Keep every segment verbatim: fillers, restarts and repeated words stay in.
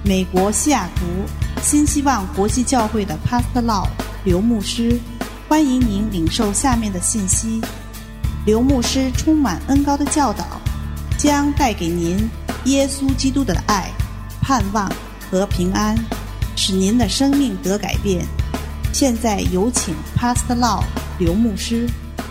美国西雅图新希望国际教会的 Pastor Lau 刘牧师，欢迎您领受下面的信息。刘牧师充满恩膏的教导，将带给您耶稣基督的爱、盼望和平安，使您的生命得改变。现在有请 Pastor Lau 刘牧师。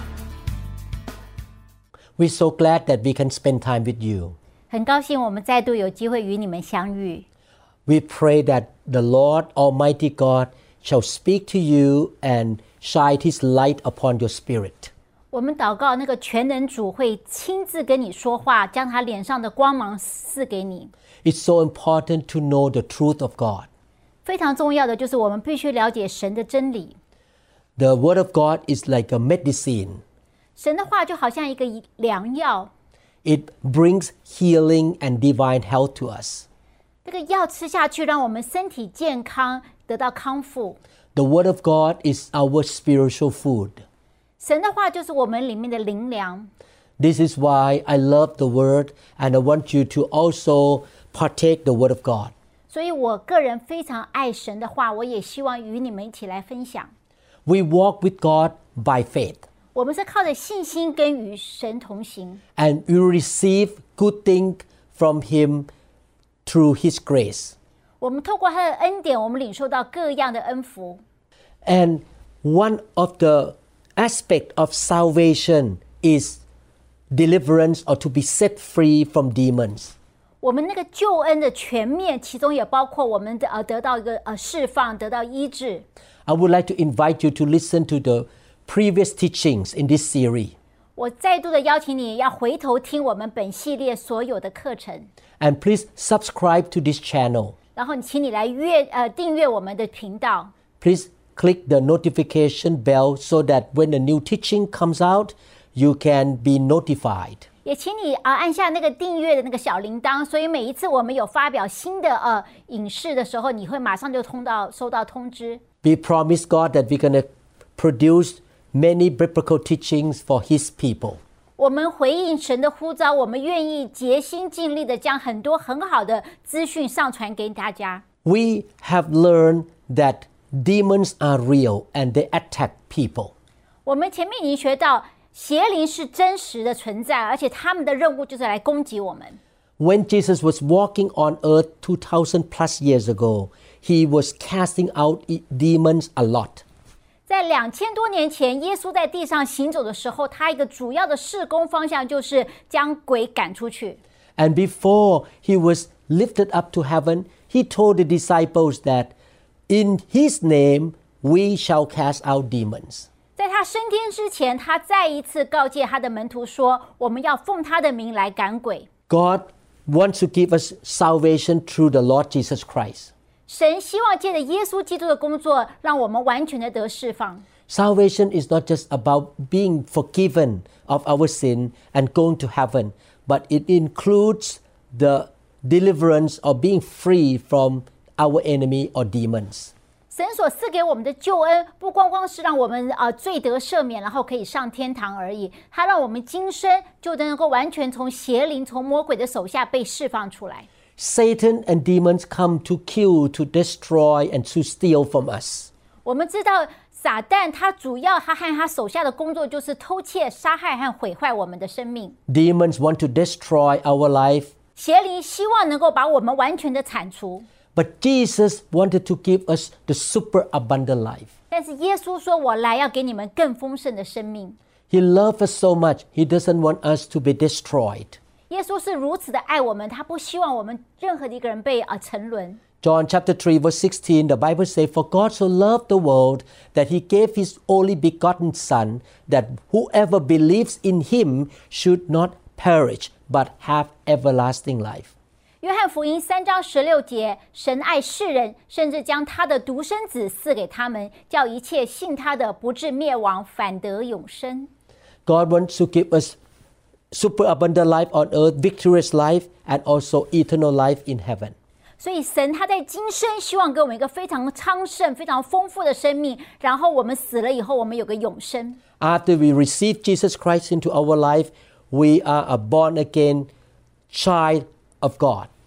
We're so glad that we can spend time with you. 很高兴我们再度有机会与你们相遇。 We pray that the Lord Almighty God shall speak to you and shine His light upon your spirit. 我们祷告那个全能主会亲自跟你说话，将他脸上的光芒赐给你。 It's so important to know the truth of God. 非常重要的就是我们必须了解神的真理。 The Word of God is like a medicine. 神的话就好像一个良药。 It brings healing and divine health to us. 这个药吃下去，让我们身体健康，得到康复。 The Word of God is our spiritual food. 神的话就是我们里面的灵粮。 This is why I love the Word and I want you to also partake the Word of God. 所以我个人非常爱神的话，我也希望与你们一起来分享。 We walk with God by faith. 我们是靠着信心跟与神同行。 And we receive good things from Him through His grace. 我们透过他的恩典，我们领受到各样的恩福。 And one of the aspects of salvation is deliverance or to be set free from demons. 我们那个救恩的全面，其中也包括我们的呃得到一个呃释放，得到医治。 I would like to invite you to listen to the previous teachings in this series. 我再度的邀请你要回头听我们本系列所有的课程。 And please subscribe to this channel. 然后请你来阅呃订阅我们的频道。 Please click the notification bell so that when the new teaching comes out, you can be notified. 也请你啊、呃、按下那个订阅的那个小铃铛，所以每一次我们有发表新的呃影视的时候，你会马上就通到收到通知。 We promise God that we're going to produce many biblical teachings for His people. 我们回应神的呼召，我们愿意竭心尽力的将很多很好的资讯上传给大家。 We have learned that demons are real and they attack people. 我们前面已经学到，邪灵是真实的存在，而且他们的任务就是来攻击我们。 When Jesus was walking on earth two thousand plus years ago, He was casting out demons a lot. 在两千多年前，耶稣在地上行走的时候，他一个主要的事工方向就是将鬼赶出去。 And before He was lifted up to heaven, He told the disciples that in His name we shall cast out demons. 在他升天之前，他再一次告诫他的门徒说，我们要奉他的名来赶鬼。 God wants to give us salvation through the Lord Jesus Christ. 神希望借着耶稣基督的工作，让我们完全的得释放。 Salvation is not just about being forgiven of our sin and going to heaven, but it includes the deliverance or being free from our enemy or demons. 神所赐给我们的救恩，不光光是让我们呃罪得赦免，然后可以上天堂而已，它让我们今生就能够完全从邪灵、从魔鬼的手下被释放出来。 Satan and demons come to kill, to destroy, and to steal from us. 我们知道撒旦他主要他和他手下的工作就是偷窃、杀害和毁坏我们的生命。 Demons want to destroy our life. 邪灵希望能够把我们完全的铲除。 But Jesus wanted to give us the super abundant life. 但是耶稣说：“我来要给你们更丰盛的生命。” He loves us so much, He doesn't want us to be destroyed. 耶稣是如此的爱我们，他不希望我们任何的一个人被啊沉沦。 John chapter three verse sixteen, the Bible says, For God so loved the world that He gave His only begotten Son, that whoever believes in Him should not perish, but have everlasting life. 约翰福音三章十六节，神爱世人，甚至将他的独生子赐给他们，叫一切信他的不至灭亡，反得永生。 God wants to give us super abundant life on earth, victorious life, and also eternal life in heaven. 所以神他在今生希望给我们一个非常昌盛、非常丰富的生命，然后我们死了以后，我们有个永生。 After we receive Jesus Christ into our life, we are a born again child of God.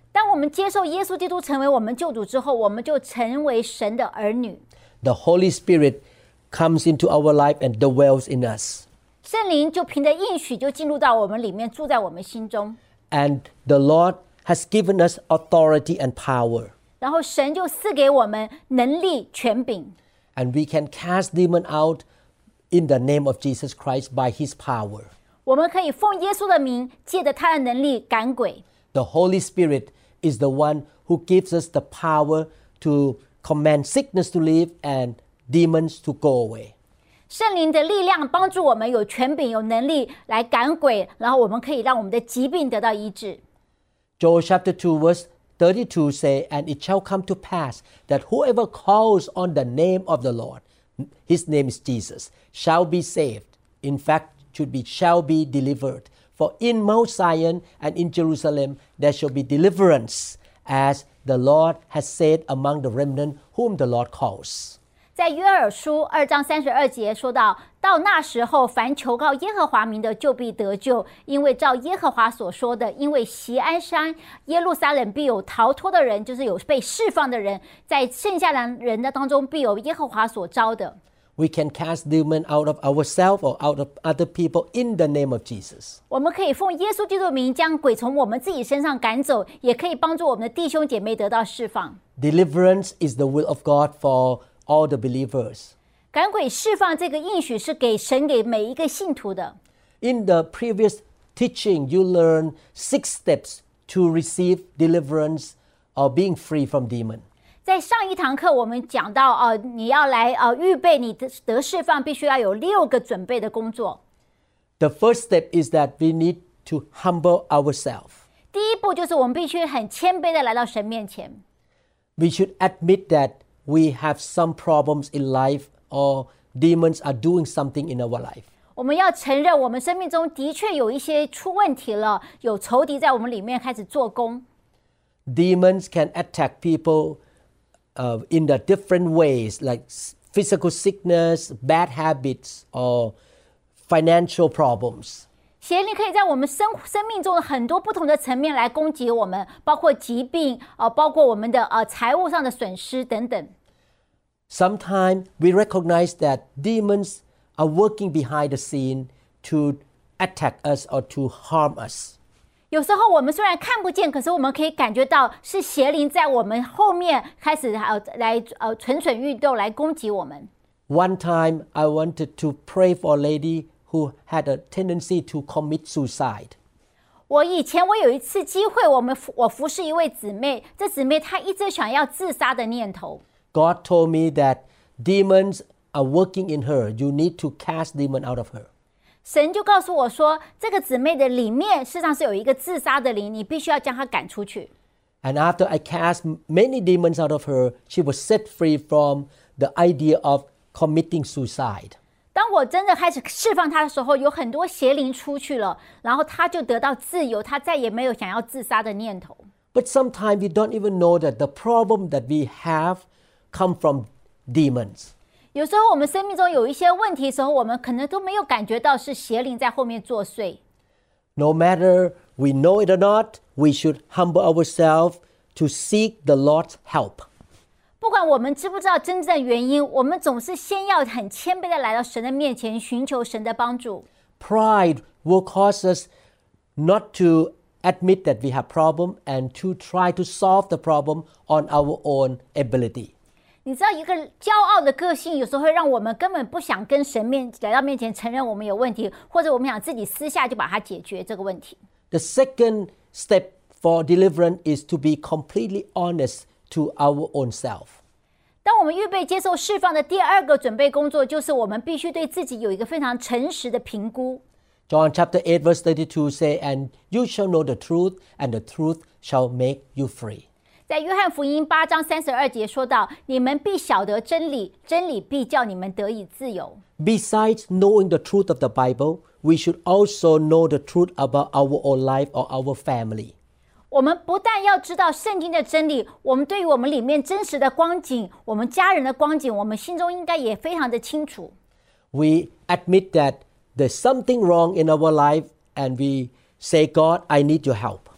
当我们接受耶稣基督成为我们救主之后，我们就成为神的儿女。 The Holy Spirit comes into our life and dwells in us. 圣灵就凭着应许就进入到我们里面，住在我们心中。 And the Lord has given us authority and power. 然后神就赐给我们能力、权柄。 And we can cast demon out in the name of Jesus Christ by His power. 我们可以奉耶稣的名，借着他的能力赶鬼。 The Holy Spirit is the one who gives us the power to command sickness to leave and demons to go away. 圣灵的力量帮助我们有权柄、有能力来赶鬼，然后我们可以让我们的疾病得到医治。 Joel chapter two verse thirty-two say, And it shall come to pass that whoever calls on the name of the Lord, His name is Jesus, shall be saved. In fact, should be shall be delivered. For in Mount Zion and in Jerusalem there shall be deliverance, as the Lord has said among the remnant whom the Lord calls. 在约珥书二章三十二节说到，到那时候，凡求告耶和华名的，就必得救，因为照耶和华所说的，因为锡安山、耶路撒冷必有逃脱的人，就是有被释放的人，在剩下的人的当中，必有耶和华所招的。 We can cast demon out of ourselves or out of other people in the name of Jesus. 我们可以奉耶稣基督的名将鬼从我们自己身上赶走，也可以帮助我们的弟兄姐妹得到释放。 Deliverance is the will of God for all the believers. 赶鬼释放这个应许是给神给每一个信徒的。 In the previous teaching, you learned six steps to receive deliverance or being free from demon. 在上一堂课，我们讲到，呃，你要来呃预备你的得释放，必须要有六个准备的工作。 The first step is that we need to humble ourselves. 第一步就是我们必须很谦卑的来到神面前。 We should admit that we have some problems in life or demons are doing something in our life. 我们要承认我们生命中的确有一些出问题了，有仇敌在我们里面开始做工。 Demons can attack people uh, in the different ways, like physical sickness, bad habits, or financial problems. 邪灵可以在我们生生命中的很多不同的层面来攻击我们，包括疾病，呃，包括我们的呃财务上的损失等等。 Sometimes we recognize that demons are working behind the scene to attack us or to harm us. 有时候我们虽然看不见，可是我们可以感觉到是邪灵在我们后面开始呃来呃蠢蠢欲动来攻击我们。 One time I wanted to pray for a lady who had a tendency to commit suicide. 我以前我有一次机会，我们我服侍一位姊妹，这姊妹她一直想要自杀的念头。 God told me that demons are working in her. You need to cast demon out of her. 神就告诉我说，这个姊妹的里面事实上是有一个自杀的灵，你必须要将她赶出去。 And after I cast many demons out of her, she was set free from the idea of committing suicide. 当我真的开始释放她的时候，有很多邪灵出去了，然后她就得到自由，她再也没有想要自杀的念头。 But sometimes we don't even know that the problem that we have come from demons. 有时候我们生命中有一些问题的时候，我们可能都没有感觉到是邪灵在后面作祟。 No matter we know it or not, we should humble ourselves to seek the Lord's help. 不管我们知不知道真正的原因，我们总是先要很谦卑的来到神的面前，寻求神的帮助。 Pride will cause us not to admit that we have problem and to try to solve the problem on our own ability. 你知道，一个骄傲的个性有时候会让我们根本不想跟神面来到面前承认我们有问题，或者我们想自己私下就把它解决这个问题。 The second step for deliverance is to be completely honest to our own self. 当我们预备接受释放的第二个准备工作，就是我们必须对自己有一个非常诚实的评估。 John chapter eight verse thirty-two say, And you shall know the truth, and the truth shall make you free. 在约翰福音八章三十二节说到，你们必晓得真理，真理必叫你们得以自由。 Besides knowing the truth of the Bible, we should also know the truth about our own life or our family. 我们不但要知道圣经的真理，我们对于我们里面真实的光景，我们家人的光景，我们心中应该也非常的清楚。 We admit that there's something wrong in our life and we say, God, I need your help.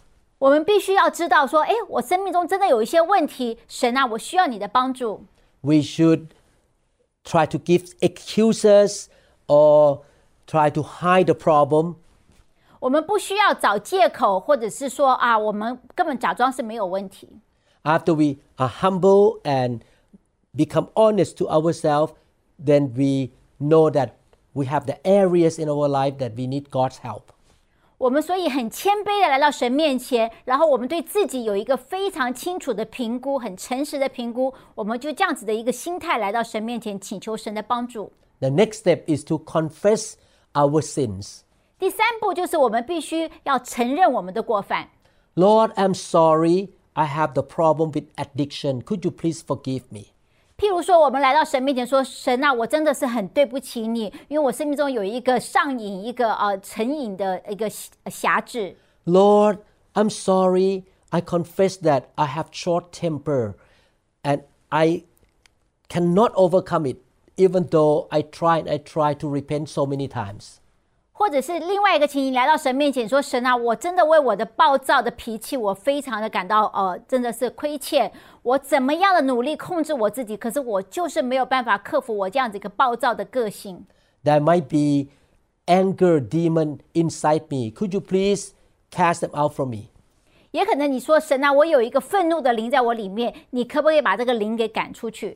我们必须要知道说，诶，我生命中真的有一些问题，神啊，我需要你的帮助。 We should try to give excuses or try to hide the problem. 我们不需要找借口，或者是说啊，我们根本假装是没有问题。 After we are humble and become honest to ourselves, then we know that we have the areas in our life that we need God's help. 我们所以很谦卑的来到神面前，然后我们对自己有一个非常清楚的评估，很诚实的评估，我们就这样子的一个心态来到神面前，请求神的帮助。 The next step is to confess our sins. 第三步就是我们必须要承认我们的过犯。 Lord, I'm sorry. I have the problem with addiction. Could you please forgive me? 譬如说，我们来到神面前说：“神啊，我真的是很对不起你，因为我生命中有一个上瘾、一个呃成瘾的一个辖制。” Lord, I'm sorry. I confess that I have short temper, and I cannot overcome it, even though I try and I try to repent so many times. 或者是另外一个情形，来到神面前说：“神啊，我真的为我的暴躁的脾气，我非常的感到呃，真的是亏欠。我怎么样的努力控制我自己，可是我就是没有办法克服我这样子一个暴躁的个性。” There might be anger demon inside me. Could you please cast them out from me? 也可能你说：“神啊，我有一个愤怒的灵在我里面，你可不可以把这个灵给赶出去？”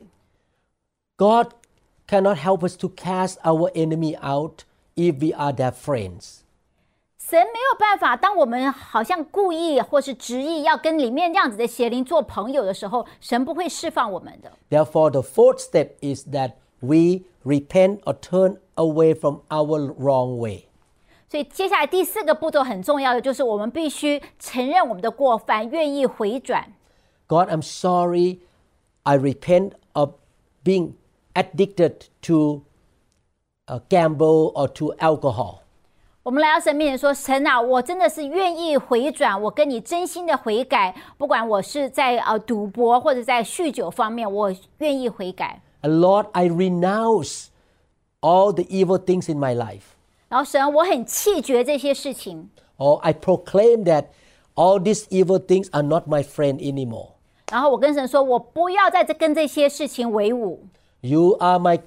God cannot help us to cast our enemy out.If we are their friends. 神没有办法，当我们好像故意或是执意要跟里面这样子的邪灵做朋友的时候，神不会释放我们的。 Therefore, the fourth step is that we repent or turn away from our wrong way. 所以接下来第四个步骤很重要的就是我们必须承认我们的过犯，愿意回转。 God, I'm sorry. I repent of being addicted to,Uh, gamble or to alcohol. 我们来到神面前说：“神啊，我真的是愿意回转，我跟你真心的悔改，不管我是在呃赌博或者在酗酒方面，我愿意悔改。” And Lord, I renounce all the evil things in my life. 然后神，我很弃绝这些事情。 Or I proclaim that all these evil things are not my friend anymore. 然后我跟神说：“我不要再跟这些事情为伍。” You are my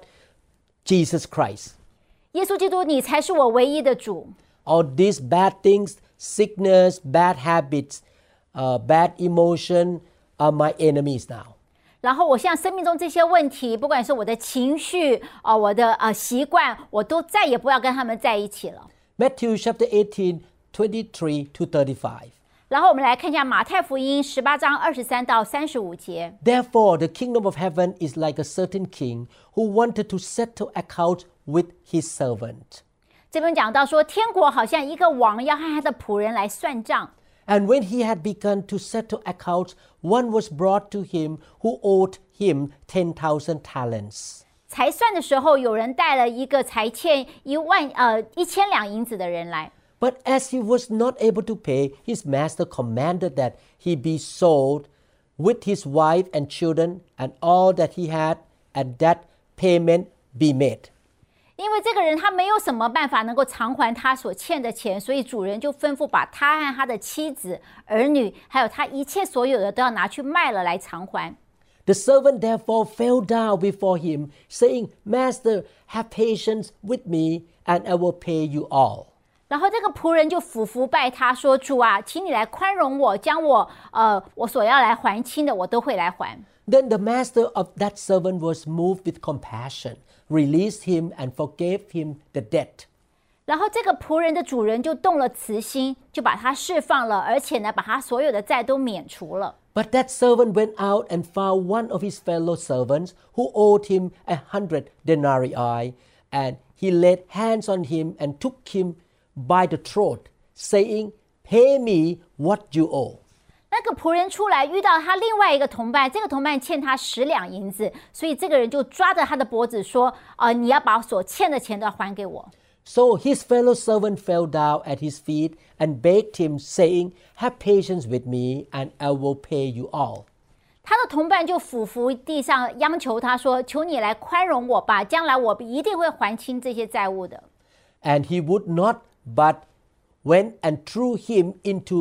God.Jesus Christ. 耶稣基督，你才是我唯一的主。 All these bad things, sickness, bad habits, uh, bad emotion are my enemies now. 然后我现在生命中这些问题，不管是我的情绪、呃、我的呃习惯，我都再也不要跟他们在一起了。 Matthew chapter eighteen, twenty-three to thirty-five. 然后我们来看一下马太福音十八章二十三到三十五节。 Therefore, the kingdom of heaven is like a certain king who wanted to settle accounts with his servant. 这边讲到说，天国好像一个王要和他的仆人来算账。 And when he had begun to settle accounts, one was brought to him who owed him ten thousand talents. 才算的时候，有人带了一个才欠一万呃一千两银子的人来。 But as he was not able to pay, his master commanded that he be sold with his wife and children and all that he had, and that payment be made. 因为这个人他没有什么办法能够偿还他所欠的钱，所以主人就吩咐把他和他的妻子、儿女，还有他一切所有的都要拿去卖了来偿还。 The servant therefore fell down before him, saying, Master, have patience with me, and I will pay you all. 然后这个仆人就俯伏拜他说：“主啊，请你来宽容我，将我呃我所要来还清的，我都会来还。” Then the master of that servant was moved with compassion, released him, and forgave him the debt. 然后这个仆人的主人就动了慈心，就把他释放了，而且呢，把他所有的债都免除了。 But that servant went out and found one of his fellow servants who owed him a hundred denarii, and he laid hands on him and took him by the throat, saying, Pay me what you owe. 那个仆人出来遇到他另外一个同伴，这个同伴欠他十两银子，所以这个人就抓着他的脖子说：“呃，你要把所欠的钱都要还给我。” So his fellow servant fell down at his feet and begged him, saying, Have patience with me, and I will pay you all. 他的同伴就俯伏地上央求他说：“求你来宽容我吧，将来我一定会还清这些债务的。” And he would not, but went and threw him into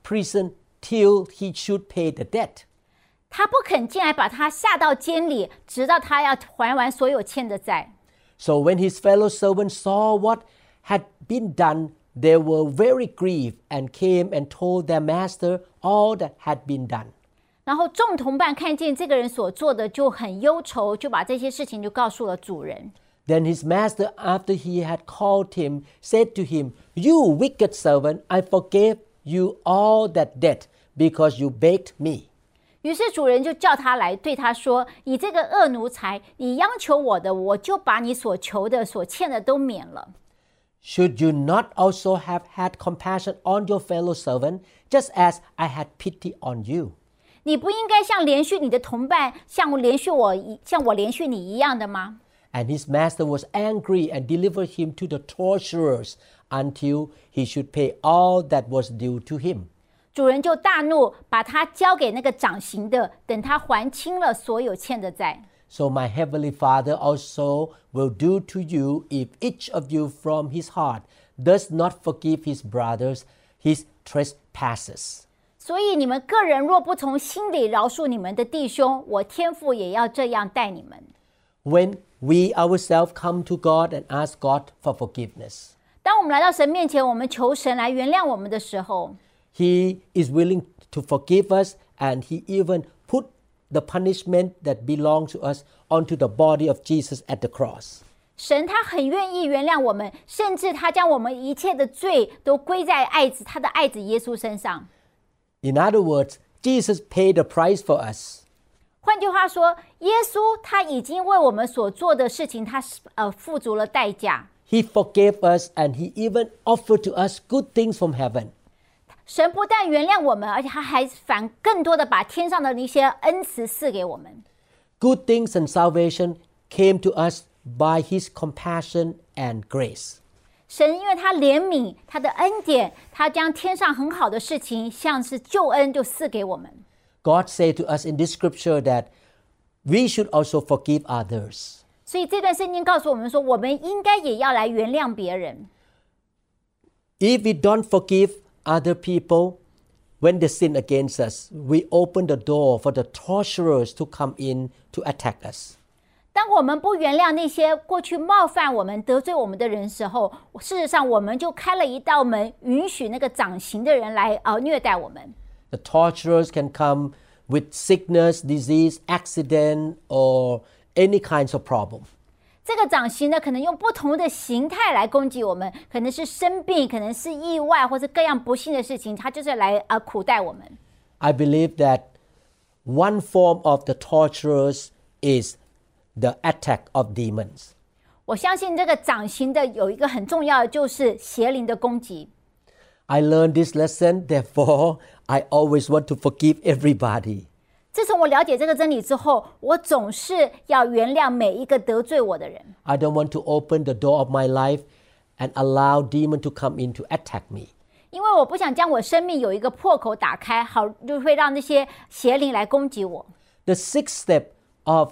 prison till he should pay the debt. 他不肯进来，把他下到监里，直到他要还完所有欠的债。 So when his fellow servants saw what had been done, they were very grieved and came and told their master all that had been done. 然后众同伴看见这个人所做的，就很忧愁，就把这些事情就告诉了主人。 Then his master, after he had called him, said to him, "You wicked servant, I forgave you all that debt because you begged me." 于是主人就叫他来，对他说：“你这个恶奴才，你央求我的，我就把你所求的、所欠的都免了。” Should you not also have had compassion on your fellow servant, just as I had pity on you? 你不应该像连续你的同伴，像我连续我，像我连续你一样的吗？ And his master was angry and delivered him to the torturers until he should pay all that was due to him. 主人就大怒，把他交给那个掌刑的，等他还清了所有欠的债。 So my heavenly Father also will do to you if each of you from his heart does not forgive his brothers his trespasses. 所以你们个人若不从心里饶恕你们的弟兄，我天父也要这样待你们。 When we ourselves come to God and ask God for forgiveness, 当我们来到神面前，我们求神来原谅我们的时候， He is willing to forgive us, and He even put the punishment that belongs to us onto the body of Jesus at the cross. 神他很愿意原谅我们，甚至他将我们一切的罪都归在爱子他的爱子耶稣身上。 In other words, Jesus paid the price for us. 换句话说，耶稣他已经为我们所做的事情，他呃付足了代价。 He forgave us, and He even offered to us good things from heaven. 神不但原谅我们，而且他还反更多的把天上的一些恩慈赐给我们。 Good things and salvation came to us by His compassion and grace. 神因为他怜悯，他的恩典，他将天上很好的事情，像是救恩，就赐给我们。 God said to us in this scripture that we should also forgive others. 所以这段圣经告诉我们说，我们应该也要来原谅别人。 If we don't forgive other people when they sin against us, we open the door for the torturers to come in to attack us. 当我们不原谅那些过去冒犯我们、得罪我们的人时候，事实上我们就开了一道门，允许那个掌刑的人来呃虐待我们。 The torturers can come with sickness, disease, accident, or any kinds of problem. 这个掌刑呢，可能用不同的形态来攻击我们，可能是生病，可能是意外，或者各样不幸的事情，他就是来呃苦待我们。 I believe that one form of the torturers is the attack of demons. 我相信这个掌刑的有一个很重要的，就是邪灵的攻击。 I learned this lesson, therefore I always want to forgive everybody. 自从我了解这个真理之后，我总是要原谅每一个得罪我的人。 I don't want to open the door of my life and allow demon to come in to attack me. 因为我不想将我生命有一个破口打开，好就会让那些邪灵来攻击我。 The sixth step of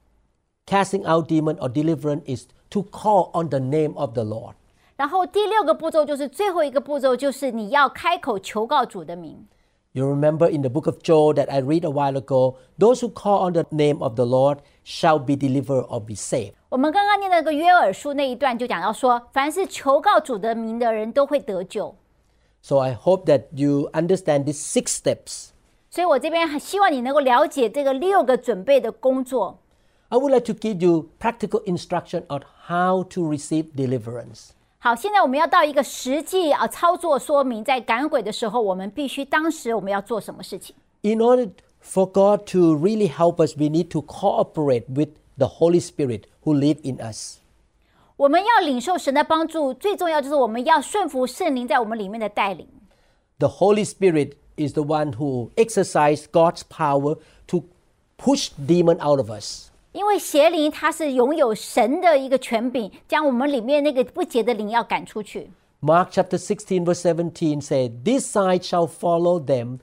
casting out demon or deliverance is to call on the name of the Lord. 然后第六个步骤就是最后一个步骤，就是你要开口求告主的名。 You remember in the book of Joel that I read a while ago, those who call on the name of the Lord shall be delivered or be saved. 我们刚刚念那个约珥书那一段就讲到说，凡是求告主的名的人都会得救。 So I hope that you understand these six steps. 所以我这边很希望你能够了解这个六个准备的工作。 I would like to give you practical instruction on how to receive deliverance. 好，现在我们要到一个实际啊操作说明，在赶鬼的时候，我们必须当时我们要做什么事情。 In order for God to really help us, we need to cooperate with the Holy Spirit who lives in us. 我们要领受神的帮助，最重要就是我们要顺服圣灵在我们里面的带领。 The Holy Spirit is the one who exercises God's power to push demon out of us. 因为邪灵它是拥有神的一个权柄，将我们里面那个不洁的灵要赶出去。 Mark chapter sixteen verse seventeen says, "This sign shall follow them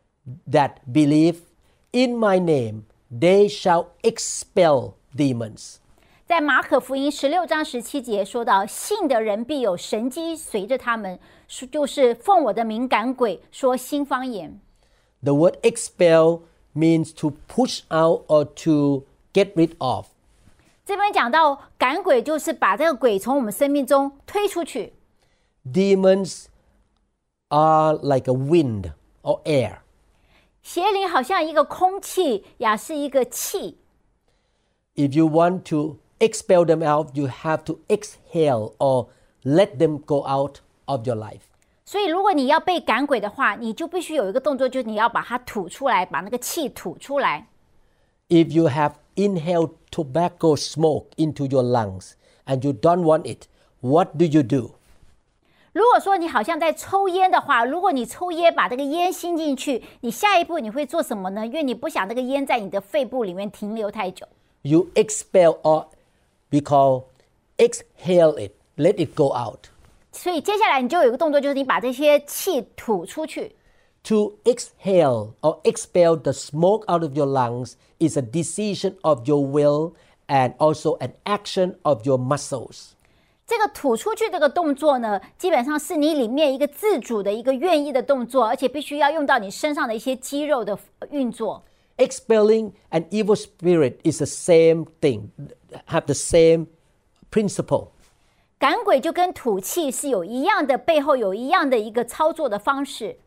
that believe in my name. They shall expel demons." 在马可福音十六章十七节说到，信的人必有神迹随着他们，就是奉我的名赶鬼，说新方言。 The word expel means to push out or to get rid of. 这边讲到赶鬼，就是把这个鬼从我们生命中推出去。 Demons are like a wind or air. 邪灵好像一个空气，也是一个气。 If you want to expel them out, you have to exhale or let them go out of your life. 所以如果你要被赶鬼的话，你就必须有一个动作，就是你要把它吐出来，把那个气吐出来。 If you have inhaled tobacco smoke into your lungs and you don't want it, what do you do? 如果说你好像在抽烟的话，如果你抽烟把这个烟吸进去，你下一步你会做什么呢？因为你不想这个烟在你的肺部里面停留太久。 You expel or we call exhale it, let it go out. 所以接下来你就有一个动作，就是你把这些气吐出去。 To exhale or expel the smoke out of your lungs is a decision of your will and also an action of your muscles. 这个吐出去这个动作呢，基本上是你里面一个自主的一个愿意的动作，而且必须要用到你身上的一些肌肉的运作。 Expelling an evil spirit is the same thing, have the same principle. 赶鬼就跟吐气是有一样的，背后有一样的一个操作的方式。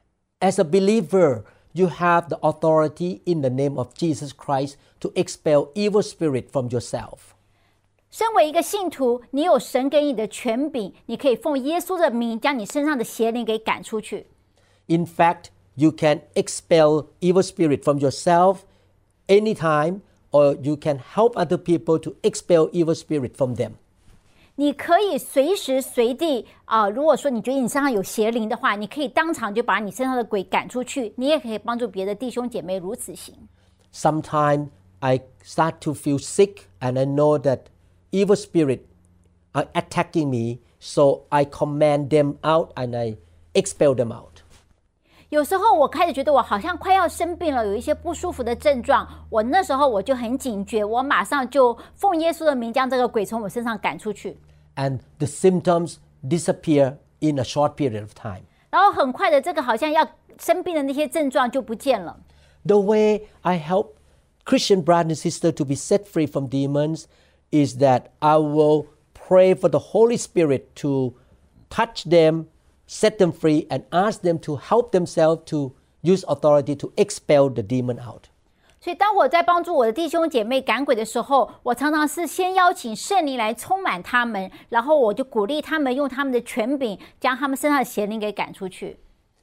As a believer, you have the authority in the name of Jesus Christ to expel evil spirit from yourself. 身为一个信徒，你有神给你的权柄，你可以奉耶稣的名将你身上的邪灵给赶出去。 In fact, you can expel evil spirit from yourself anytime, or you can help other people to expel evil spirit from them. 你可以随时随地啊、呃，如果说你觉得你身上有邪灵的话，你可以当场就把你身上的鬼赶出去。你也可以帮助别的弟兄姐妹如此行。 Sometimes I start to feel sick, and I know that evil spirit are attacking me, so I command them out and I expel them out. 有时候我开始觉得我好像快要生病了，有一些不舒服的症状，我那时候我就很警觉，我马上就奉耶稣的名将这个鬼从我身上赶出去。 And the symptoms disappear in a short period of time. 然后很快的，这个好像要生病的那些症状就不见了。 The way I help Christian brothers and sisters to be set free from demons is that I will pray for the Holy Spirit to touch them, set them free, and ask them to help themselves to use authority to expel the demon out. 所以当我在帮助我的弟兄姐妹赶鬼的时候，我常常是先邀请圣灵来充满他们，然后我就鼓励他们用他们的权柄将他们身上的邪灵给赶出去。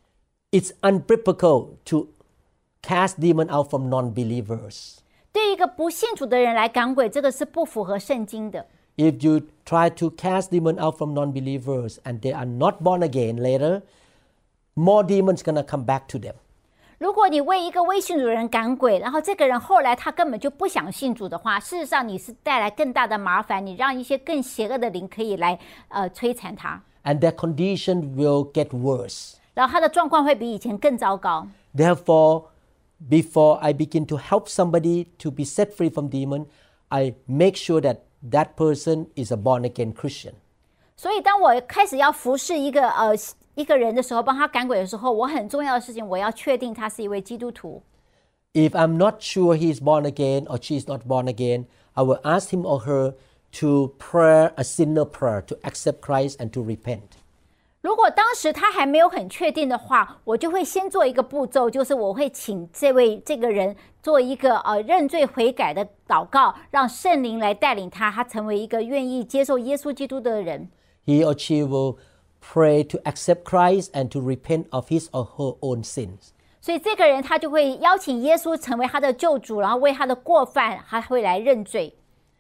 It's unbiblical to cast demon out from non-believers. 对一个不信主的人来赶鬼，这个是不符合圣经的。 If you try to cast demon out from non-believers and they are not born again later, more demons gonna come back to them. 如果你为一个未信主的人赶鬼，然后这个人后来他根本就不想信主的话，事实上你是带来更大的麻烦，你让一些更邪恶的灵可以来呃摧残他。 And their condition will get worse. 然后他的状况会比以前更糟糕。 Therefore, before I begin to help somebody to be set free from demon, I make sure that that person is a born-again Christian. 所以当我开始要服侍一个呃一个人的时候，帮他赶鬼的时候，我很重要的事情，我要确定他是一位基督徒。 If I'm not sure he is born again or she is not born again, I will ask him or her to pray a sinner prayer to accept Christ and to repent. 如果当时他还没有很确定的话，我就会先做一个步骤，就是我会请这位这个人做一个呃认罪悔改的祷告，让圣灵来带领他，他成为一个愿意接受耶稣基督的人。 He or she will pray to accept Christ and to repent of his or her own sins. 所以这个人他就会邀请耶稣成为他的救主，然后为他的过犯，他会来认罪。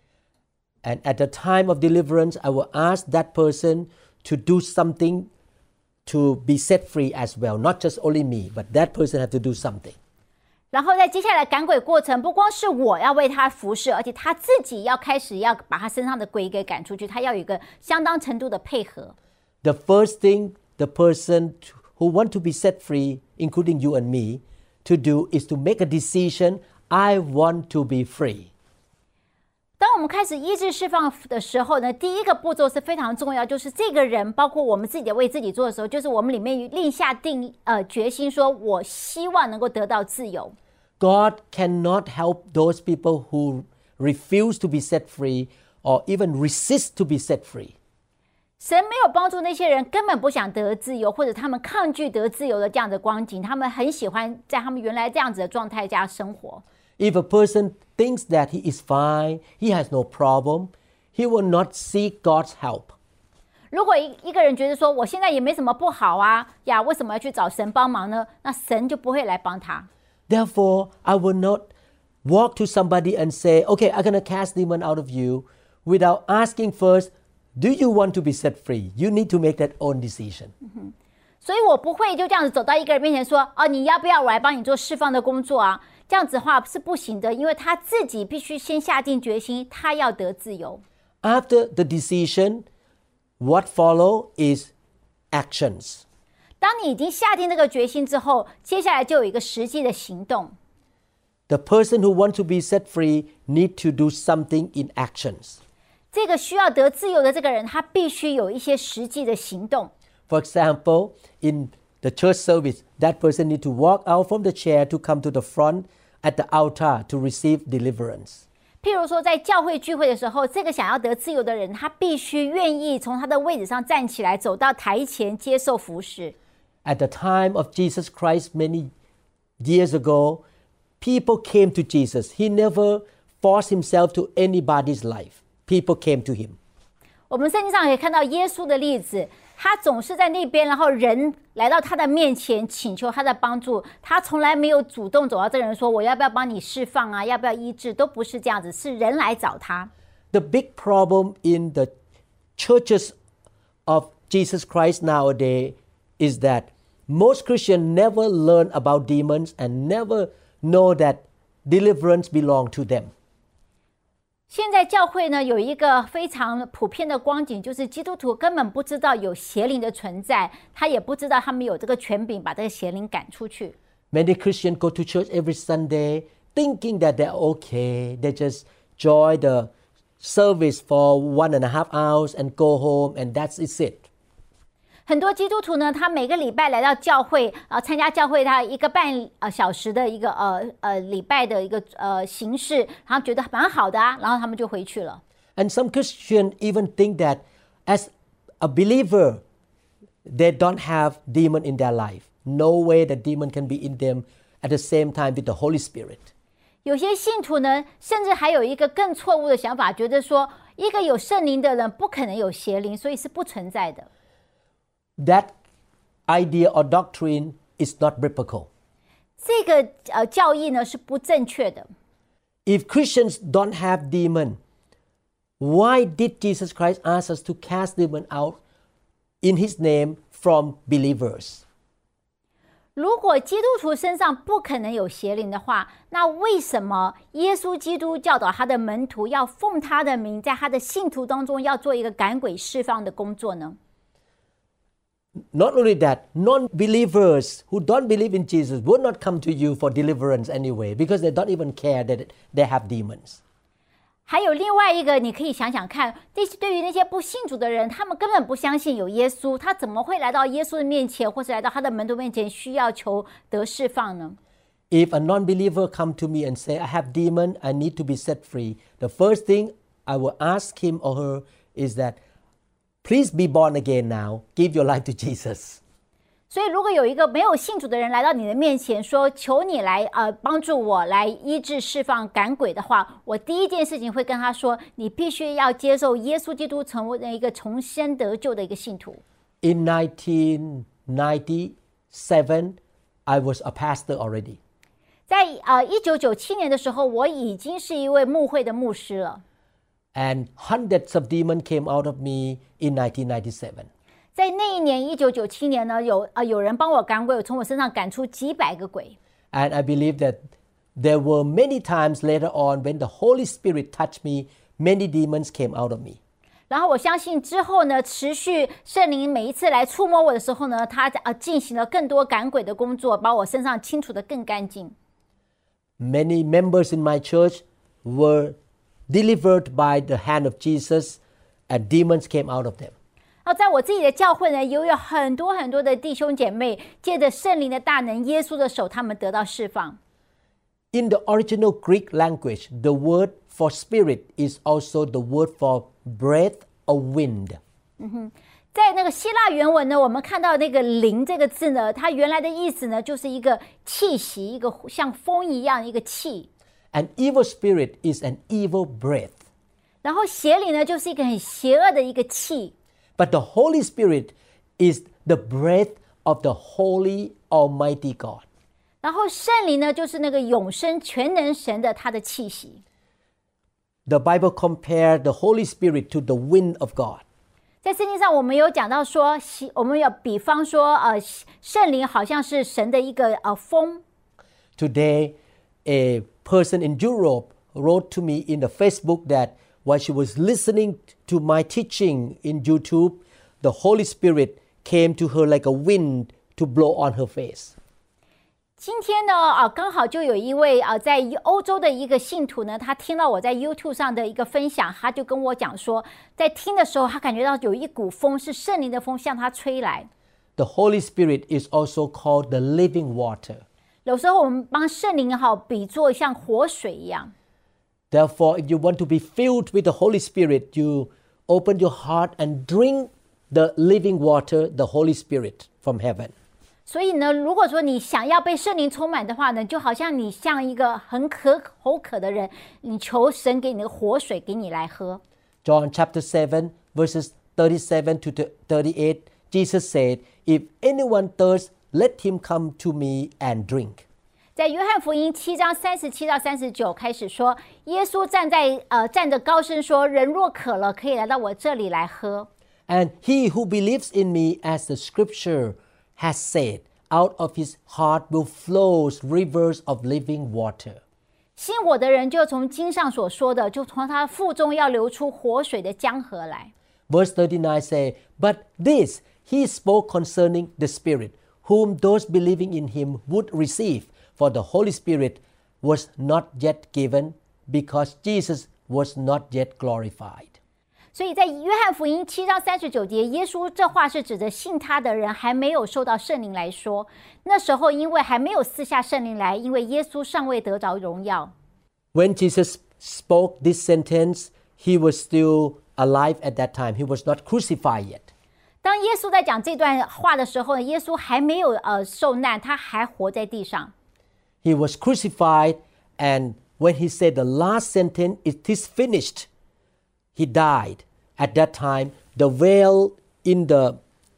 And at the time of deliverance, I will ask that person to do something to be set free as well. Not just only me, but that person have to do something. 然后在接下来赶鬼过程，不光是我要为他服侍，而且他自己要开始要把他身上的鬼给赶出去，他要有一个相当程度的配合。 The first thing the person who want to be set free, including you and me, to do is to make a decision, I want to be free. 当我们开始医治释放的时候呢，第一个步骤是非常重要，就是这个人包括我们自己为自己做的时候，就是我们里面立下定呃决心，说我希望能够得到自由。 God cannot help those people who refuse to be set free or even resist to be set free. 神没有帮助那些人根本不想得自由，或者他们抗拒得自由的这样的光景，他们很喜欢在他们原来这样子的状态下生活。 If a person thinks that he is fine, he has no problem, he will not seek God's help. 如果一一个人觉得说我现在也没什么不好啊呀，为什么要去找神帮忙呢？那神就不会来帮他。 Therefore, I will not walk to somebody and say, okay, I'm going to cast demon out of you without asking first, do you want to be set free? You need to make that own decision. 所以我不会就这样子走到一个人面前说，哦，你要不要我来帮你做释放的工作啊？这样子的话是不行的，因为他自己必须先下定决心，他要得自由。 After the decision, what follow is actions. 当你已经下定这个决心之后，接下来就有一个实际的行动。 The person who wants to be set free need to do something in actions. 这个需要得自由的这个人，他必须有一些实际的行动。 For example, in the church service, that person need to walk out from the chair to come to the front at the altar to receive deliverance. 譬如说，在教会聚会的时候，这个想要得自由的人，他必须愿意从他的位置上站起来，走到台前接受服事。 At the time of Jesus Christ many years ago, people came to Jesus. He never forced himself to anybody's life. People came to him. 我们圣经上也看到耶稣的例子，他总是在那边，然后人来到他的面前请求他的帮助，他从来没有主动走到这个人说我要不要帮你释放啊，要不要医治，都不是这样子，是人来找他。 The big problem in the churches of Jesus Christ nowadays is that most Christians never learn about demons and never know that deliverance belongs to them. 现在教会呢有一个非常普遍的光景，就是基督徒根本不知道有邪灵的存在，他也不知道他们有这个权柄把这个邪灵赶出去。 Many Christians go to church every Sunday thinking that they're okay. They just join the service for one and a half hours and go home and that's it. 很多基督徒呢，他每个礼拜来到教会啊、呃，参加教会他一个半呃小时的一个呃呃礼拜的一个呃形式，然后觉得蛮好的啊，然后他们就回去了。 And some Christians even think that as a believer, they don't have demon in their life. No way that demon can be in them at the same time with the Holy Spirit. 有些信徒呢，甚至还有一个更错误的想法，觉得说一个有圣灵的人不可能有邪灵，所以是不存在的。 That idea or doctrine is not biblical. 这个呃教义呢是不正确的。 If Christians don't have demon, why did Jesus Christ ask us to cast demon out in His name from believers? 如果基督徒身上不可能有邪灵的话，那为什么耶稣基督教导他的门徒要奉他的名，在他的信徒当中要做一个赶鬼释放的工作呢？ Not only that, non-believers who don't believe in Jesus would not come to you for deliverance anyway because they don't even care that they have demons. 还有另外一个，你可以想想看，对于那些不信主的人，他们根本不相信有耶稣，他怎么会来到耶稣的面前，或是来到他的门徒面前，需要求得释放呢？ If a non-believer come to me and say, I have demon, I need to be set free, the first thing I will ask him or her is that, please be born again now. Give your life to Jesus. 所以，如果有一个没有信主的人来到你的面前，说：“求你来呃帮助我来医治、释放、赶鬼的话，我第一件事情会跟他说：你必须要接受耶稣基督，成为一个重生得救的一个信徒。” In nineteen ninety-seven, I was a pastor already. 在呃一九九七年的时候，我已经是一位牧会的牧师了。 And hundreds of demons came out of me in nineteen ninety-seven. 在那一年，一九九七年呢，有呃有人帮我赶鬼，从我身上赶出几百个鬼。 And I believe that there were many times later on when the Holy Spirit touched me, many demons came out of me. 然后我相信之后呢，持续圣灵每一次来触摸我的时候呢，他呃进行了更多赶鬼的工作，把我身上清除得更干净。 Many members in my church were delivered by the hand of Jesus, and demons came out of them. 然后在我自己的教会呢，也有很多很多的弟兄姐妹，借着圣灵的大能，耶稣的手，他们得到释放。 In the original Greek language, the word for spirit is also the word for breath or wind. 在那个希腊原文呢，我们看到那个灵这个字呢，它原来的意思呢，就是一个气息，一个像风一样的一个气。 An evil spirit is an evil breath. 然后邪灵呢，就是一个很邪恶的一个气。 But the Holy Spirit is the breath of the Holy Almighty God. 然后圣灵呢，就是那个永生全能神的他的气息。 The Bible compared the Holy Spirit to the wind of God. 在圣经上，我们有讲到说，我们有比方说，呃，圣灵好像是神的一个呃风。 Today, a person in Europe wrote to me in the Facebook that while she was listening to my teaching in YouTube, the Holy Spirit came to her like a wind to blow on her face. 今天呢，啊，刚好就有一位啊，在欧洲的一个信徒呢，他听到我在 YouTube 上的一个分享，他就跟我讲说，在听的时候，他感觉到有一股风是圣灵的风向他吹来。 The Holy Spirit is also called the living water. 有时候我们帮圣灵好比作像活水一样。 Therefore, if you want to be filled with the Holy Spirit, you open your heart and drink the living water, the Holy Spirit from heaven. 所以呢，如果说你想要被圣灵充满的话呢，就好像你像一个很渴口渴的人，你求神给你的活水给你来喝。 John chapter seven, verses thirty-seven to thirty-eight, Jesus said, "If anyone thirsts, let him come to me and drink." 在约翰福音七章三十七到三十九开始说，耶稣站在呃站着高声说：“人若渴了，可以来到我这里来喝。” And he who believes in me, as the Scripture has said, out of his heart will flow rivers of living water. 信我的人就从经上所说的，就从他腹中要流出活水的江河来。 Verse thirty-nine say, "But this he spoke concerning the Spirit, whom those believing in him would receive, for the Holy Spirit was not yet given, because Jesus was not yet glorified." 所以在约翰福音七章三十九节，耶稣这话是指着信他的人还没有受到圣灵来说。那时候因为还没有赐下圣灵来，因为耶稣尚未得着荣耀。 When Jesus spoke this sentence, he was still alive at that time. He was not crucified yet. 当耶稣在讲这段话的时候呢，耶稣还没有呃受难，他还活在地上。 He was crucified, and when he said the last sentence, "It is finished," he died. At that time, the veil in the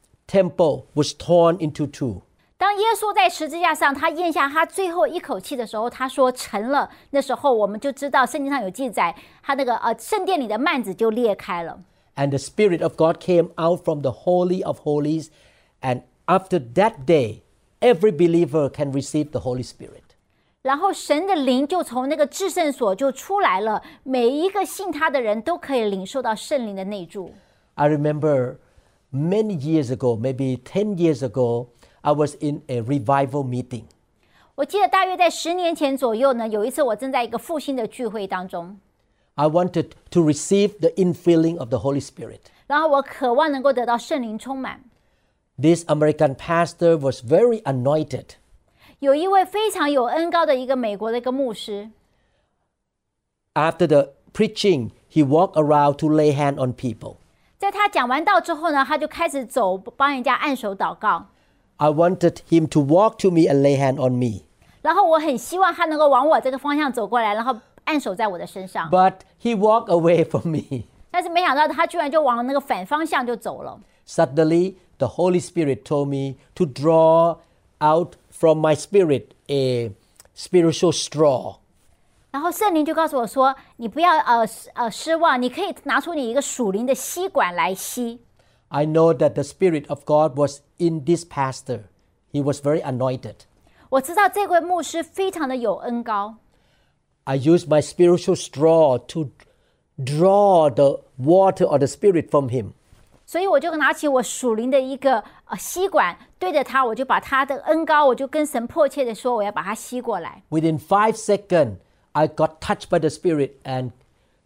temple was torn into two. 当耶稣在十字架上，他咽下他最后一口气的时候，他说成了。那时候我们就知道圣经上有记载，他那个呃圣殿里的幔子就裂开了。 And the Spirit of God came out from the Holy of Holies, and after that day, every believer can receive the Holy Spirit. 然后神的灵就从那个至圣所就出来了，每一个信他的人都可以领受到圣灵的内住。 I remember many years ago, maybe ten years ago, I was in a revival meeting. 我记得大约在十年前左右呢，有一次我正在一个复兴的聚会当中。 I wanted to receive the infilling of the Holy Spirit. 然后我渴望能够得到圣灵充满。 This American pastor was very anointed. 有一位非常有恩膏的一个美国的一个牧师。 After the preaching, he walked around to lay hand on people. 在他讲完道之后呢，他就开始走，帮人家按手祷告。 I wanted him to walk to me and lay hand on me. 然后我很希望他能够往我这个方向走过来，然后按手在我的身上。 But he walked away from me. 但是没想到他居然就往那个反方向就走了。 Suddenly, the Holy Spirit told me to draw out from my spirit a spiritual straw. 然后圣灵就告诉我说：“你不要呃呃失望，你可以拿出你一个属灵的吸管来吸。” I know that the Spirit of God was in this pastor. He was very anointed. 我知道这位牧师非常的有恩膏。 I used my spiritual straw to draw the water or the Spirit from him. 所以我就拿起我属灵的一个呃吸管，对着他，我就把他的恩膏，我就跟神迫切的说，我要把它吸过来。 Within five seconds, I got touched by the Spirit and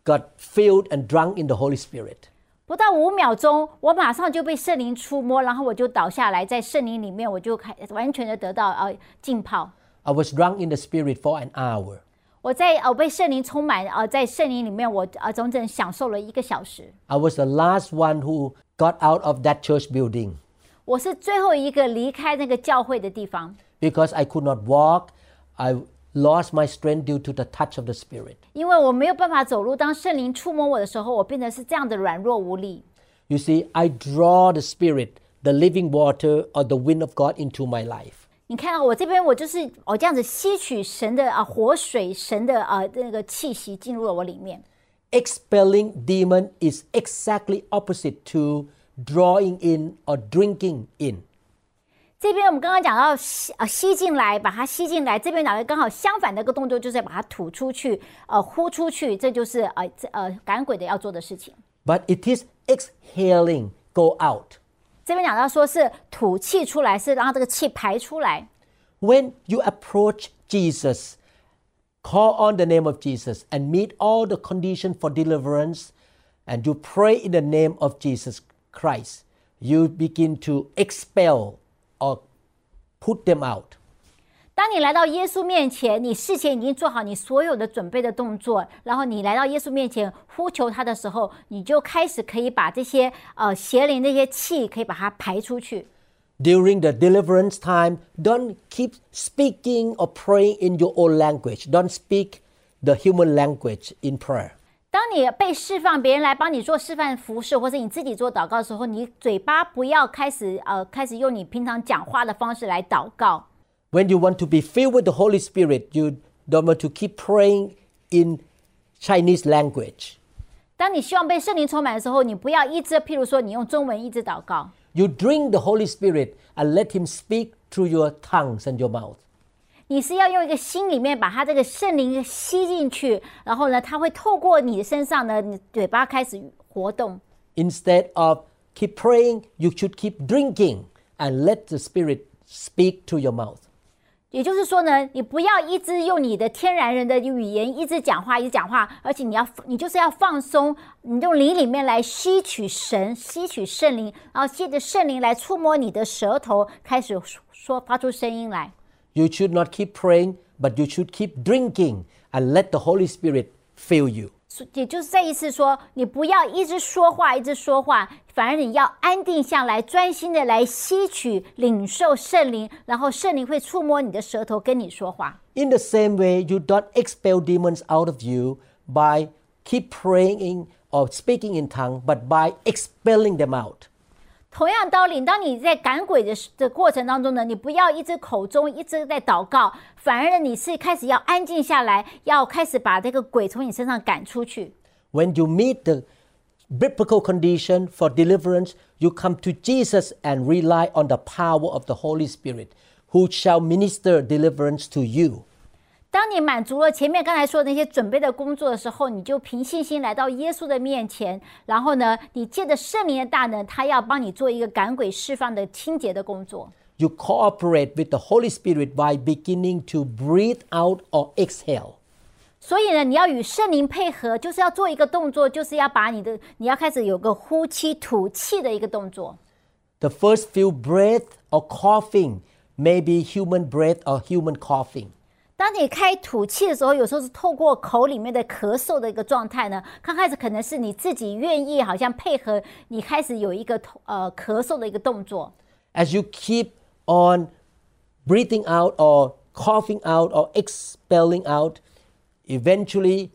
got filled and drunk in the Holy Spirit. 不到五秒钟，我马上就被圣灵触摸，然后我就倒下来，在圣灵里面，我就开完全的得到呃浸泡。 I was drunk in the Spirit for an hour. 我在呃被圣灵充满，呃在圣灵里面，我呃整整享受了一个小时。 I was the last one who got out of that church building. 我是最后一个离开那个教会的地方。 Because I could not walk, I lost my strength due to the touch of the Spirit. 因为我没有办法走路，当圣灵触摸我的时候，我变得是这样的软弱无力。 You see, I draw the Spirit, the living water, or the wind of God into my life. 你看到我这边，我就是我这样子吸取神的啊活水，神的啊那个气息进入了我里面。 Expelling demon is exactly opposite to drawing in or drinking in. 这边我们刚刚讲到吸呃吸进来，把它吸进来。这边哪个刚好相反的一个动作，就是把它吐出去，呃呼出去，这就是呃呃赶鬼的要做的事情。 But it is exhaling, go out. 这边讲到说是吐气出来，是让这个气排出来。 When you approach Jesus, call on the name of Jesus and meet all the conditions for deliverance, and you pray in the name of Jesus Christ, you begin to expel or put them out. 当你来到耶稣面前，你事前已经做好你所有的准备的动作，然后你来到耶稣面前呼求他的时候，你就开始可以把这些呃邪灵那些气可以把它排出去。 During the deliverance time, don't keep speaking or praying in your own language. Don't speak the human language in prayer. 当你被释放，别人来帮你做示范服事，或者你自己做祷告的时候，你嘴巴不要开始呃开始用你平常讲话的方式来祷告。 When you want to be filled with the Holy Spirit, you don't want to keep praying in Chinese language. 当你希望被圣灵充满的时候，你不要一直，譬如说你用中文一直祷告。 You drink the Holy Spirit and let Him speak through your tongues and your mouth. 你是要用一个心里面把它这个圣灵吸进去，然后呢，它会透过你的身上呢，你嘴巴开始活动。 Instead of keep praying, you should keep drinking and let the Spirit speak through your mouth. 也就是说呢，你不要一直用你的天然人的语言一直讲话，一直讲话，而且你要，你就是要放松，你用灵里面来吸取神，吸取圣灵，然后借着圣灵来触摸你的舌头，开始说发出声音来。 You should not keep praying, but you should keep drinking and let the Holy Spirit fill you. 也就是再一次说，你不要一直说话，一直说话，反而你要安定下来，专心的来吸取、领受圣灵，然后圣灵会触摸你的舌头，跟你说话。 In the same way, you don't expel demons out of you by keep praying or speaking in tongues, but by expelling them out. 同样道理，当你在赶鬼的的过程当中呢，你不要一直口中一直在祷告，反而呢，你是开始要安静下来，要开始把这个鬼从你身上赶出去。 When you meet the biblical condition for deliverance, you come to Jesus and rely on the power of the Holy Spirit, who shall minister deliverance to you. 当你满足了前面刚才说的那些准备的工作的时候，你就凭信心来到耶稣的面前，然后呢，你借着圣灵的大能，他要帮你做一个赶鬼释放的清洁的工作。 You cooperate with the Holy Spirit by beginning to breathe out or exhale. 所以呢，你要与圣灵配合，就是要做一个动作，就是要把你的，你要开始有个呼气、吐气的一个动作。 The first few breath or coughing may be human breath or human coughing. 当你开吐气的时候，有时候是透过口里面的咳嗽的一个状态呢。刚开始可能是你自己愿意，好像配合你开始有一个呃咳嗽的一个动作。 As you keep on breathing out or coughing out or expelling out, eventually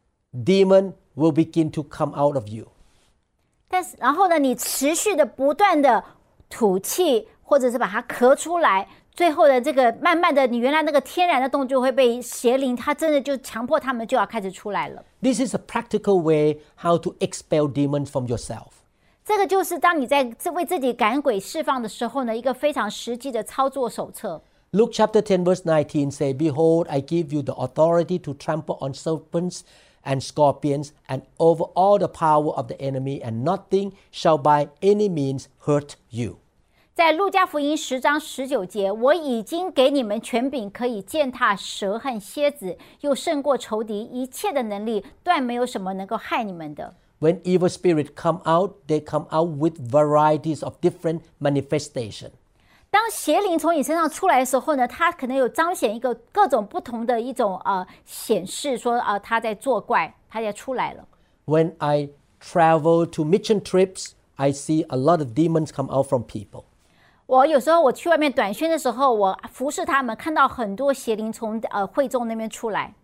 demon will begin to come out of you. 但是然后呢，你持续的不断的吐气，或者是把它咳出来。最后的这个慢慢的，你原来那个天然的动作会被邪灵，它真的就强迫他们就要开始出来了。 This is a practical way how to expel demons from yourself. 这个就是当你在为自己赶鬼释放的时候呢，一个非常实际的操作手册。 Luke chapter ten verse nineteen say, Behold, I give you the authority to trample on serpents and scorpions and over all the power of the enemy, and nothing shall by any means hurt you. 在路加福音十章十九节，我已经给你们权柄，可以践踏蛇和蝎子，又胜过仇敌一切的能力，断没有什么能够害你们的。 When evil spirits come out, they come out with varieties of different manifestations. 当邪灵从你身上出来的时候呢，它可能有彰显一个各种不同的一种呃显示，说啊、呃、它在作怪，它在出来了。 When I travel to mission trips, I see a lot of demons come out from people. 我有时候我去外面短宣的时候，我服侍他们，看到很多邪灵从呃会众那边出来。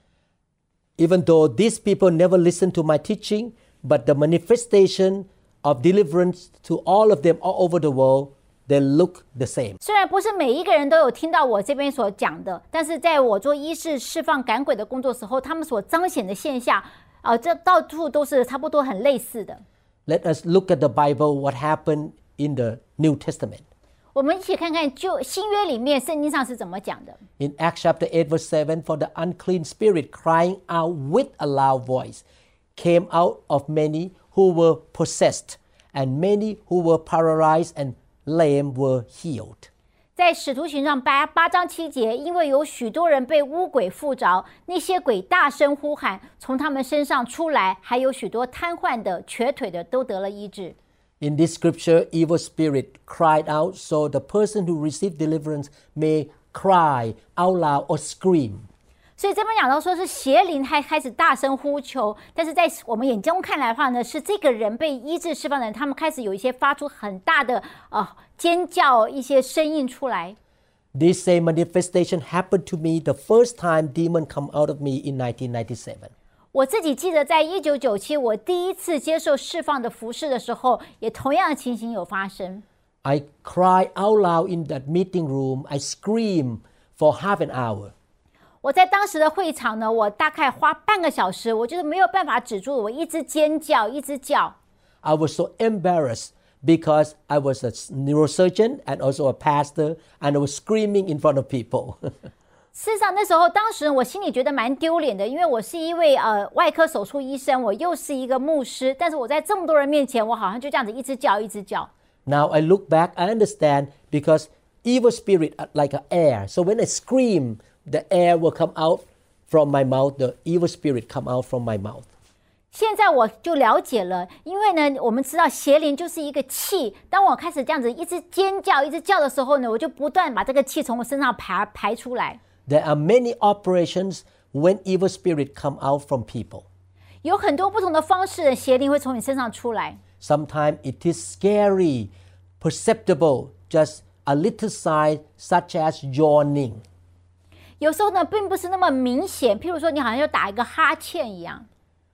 Even though these people never listen to my teaching, but the manifestation of deliverance to all of them all over the world, they look the same. 虽然不是每一个人都有听到我这边所讲的，但是在我做医治、释放、赶鬼的工作时候，他们所彰显的现象，呃，这到处都是差不多很类似的。 Let us look at the Bible, what happened in the New Testament. 我们一起看看旧新约里面圣经上是怎么讲的。 In Acts chapter eight, verse seven, for the unclean spirit crying out with a loud voice came out of many who were possessed, and many who were paralyzed and lame were healed. 在使徒行传八八章七节，因为有许多人被污鬼附着，那些鬼大声呼喊，从他们身上出来，还有许多瘫痪的、瘸腿的都得了医治。 In this scripture, evil spirit cried out, so the person who received deliverance may cry out loud or scream. 所以这边讲到说是邪灵还开始大声呼求，但是在我们眼中看来的话呢，是这个人被医治释放的人，他们开始有一些发出很大的呃尖叫，一些声音出来。 This same manifestation happened to me the first time demon come out of me in nineteen ninety-seven. 我自己记得在一九九七我第一次接受释放的服事的时候，也同样的情形有发生。 I cried out loud in that meeting room. I screamed for half an hour. 我在当时的会场呢，我大概花半个小时，我就是没有办法止住，我一直尖叫，一直叫。 I was so embarrassed because I was a neurosurgeon and also a pastor, and I was screaming in front of people. 事实上，那时候当时我心里觉得蛮丢脸的，因为我是一位呃外科手术医生，我又是一个牧师，但是我在这么多人面前，我好像就这样子一直叫，一直叫。 Now I look back, I understand because evil spirit are like an air. So when I scream, the air will come out from my mouth. The evil spirit come out from my mouth. 现在我就了解了，因为呢，我们知道邪灵就是一个气。当我开始这样子一直尖叫、一直叫的时候呢，我就不断把这个气从我身上排排出来。 There are many operations when evil spirit come out from people. 有很多不同的方式，邪灵会从你身上出来。 Sometimes it is scary, perceptible, just a little sign such as yawning. 有时候呢，并不是那么明显，譬如说你好像要打一个哈欠一样。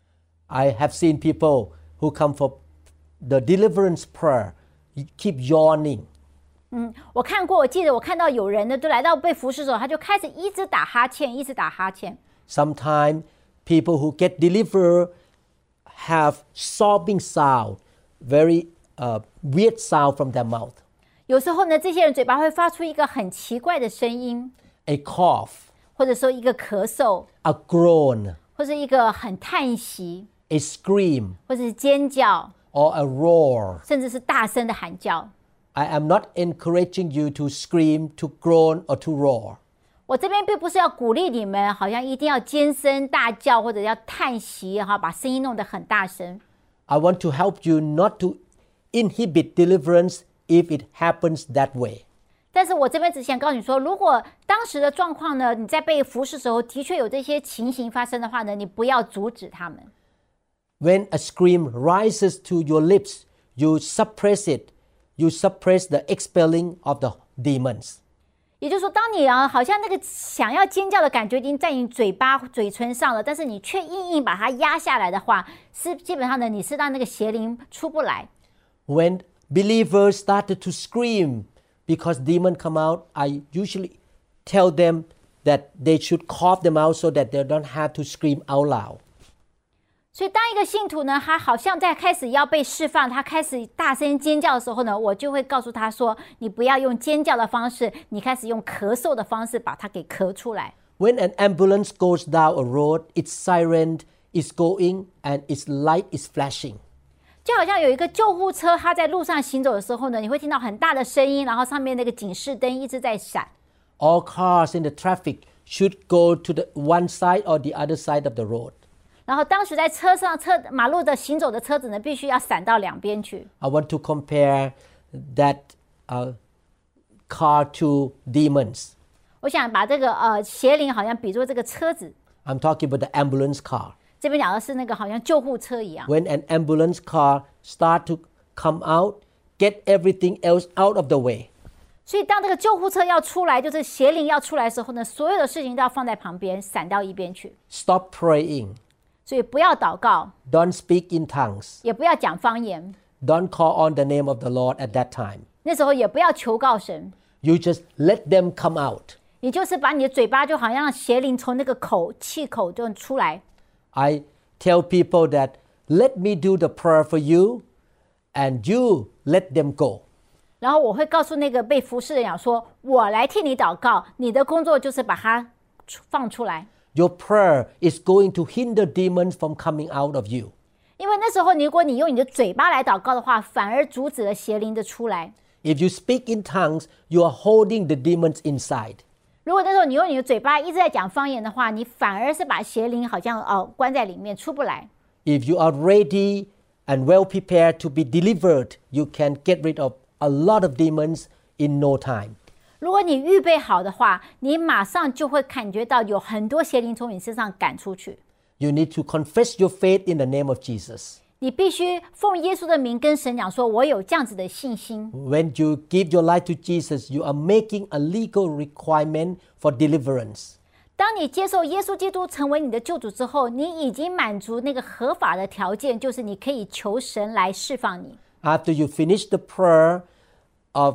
I have seen people who come for the deliverance prayer, keep yawning. 嗯，我看过，我记得我看到有人呢，就来到被服侍的时候，他就开始一直打哈欠，一直打哈欠。 Sometimes people who get delivered have sobbing sound, very uh, weird sound from their mouth. 有时候呢，这些人嘴巴会发出一个很奇怪的声音， A cough, 或者说一个咳嗽， a groan, 或者一个很叹息， a scream, 或者是尖叫， or a roar. 甚至是大声的喊叫。 I am not encouraging you to scream, to groan, or to roar. 我这边并不是要鼓励你们，好像一定要尖声大叫或者要叹息哈，把声音弄得很大声。 I want to help you not to inhibit deliverance if it happens that way. 但是我这边只想告诉你说，如果当时的状况呢，你在被服侍的时候的确有这些情形发生的话呢，你不要阻止他们。 When a scream rises to your lips, you suppress it. You suppress the expelling of the demons. 也就是说，当你啊，好像那个想要尖叫的感觉已经在你嘴巴、嘴唇上了，但是你却硬硬把它压下来的话，是基本上呢，你是让那个邪灵出不来。 When believers started to scream because demons come out, I usually tell them that they should cough them out so that they don't have to scream out loud. 所以，当一个信徒呢，他好像在开始要被释放，他开始大声尖叫的时候呢，我就会告诉他说：“你不要用尖叫的方式，你开始用咳嗽的方式把它给咳出来。” When an ambulance goes down a road, its siren is going and its light is flashing. 就好像有一个救护车，它在路上行走的时候呢，你会听到很大的声音，然后上面那个警示灯一直在闪。 All cars in the traffic should go to the one side or the other side of the road. 然后当时在车上车马路的行走的车子呢，必须要闪到两边去。 I want to compare that uh, car to demons. 我想把这个呃邪灵好像比作这个车子。 I'm talking about the ambulance car. 这边讲的是那个好像救护车一样。 When an ambulance car start to come out, get everything else out of the way. 所以当这个救护车要出来，就是邪灵要出来的时候呢，所有的事情都要放在旁边，闪到一边去。 Stop praying. 所以不要祷告， Don't speak in tongues. 也不要讲方言， Don't call on the name of the Lord at that time. 那时候也不要求告神， You just let them come out. 你就是把你的嘴巴就好像让邪灵从那个口气口就出来。 I tell people that let me do the prayer for you and you let them go. 然后我会告诉那个被服侍的人讲说，我来替你祷告，你的工作就是把它放出来。 Your prayer is going to hinder demons from coming out of you. 因为那时候如果你用你的嘴巴来祷告的话，反而阻止了邪灵的出来。 If you speak in tongues, you are holding the demons inside. 如果那时候你用你的嘴巴一直在讲方言的话，你反而是把邪灵好像呃关在里面出不来。 If you are ready and well prepared to be delivered, you can get rid of a lot of demons in no time. 如果你预备好的话，你马上就会感觉到有很多邪灵从你身上赶出去。 You need to confess your faith in the name of Jesus. 你必须奉耶稣的名跟神讲说，我有这样子的信心。 When you give your life to Jesus, you are making a legal requirement for deliverance. 当你接受耶稣基督成为你的救主之后，你已经满足那个合法的条件，就是你可以求神来释放你。 After you finish the prayer of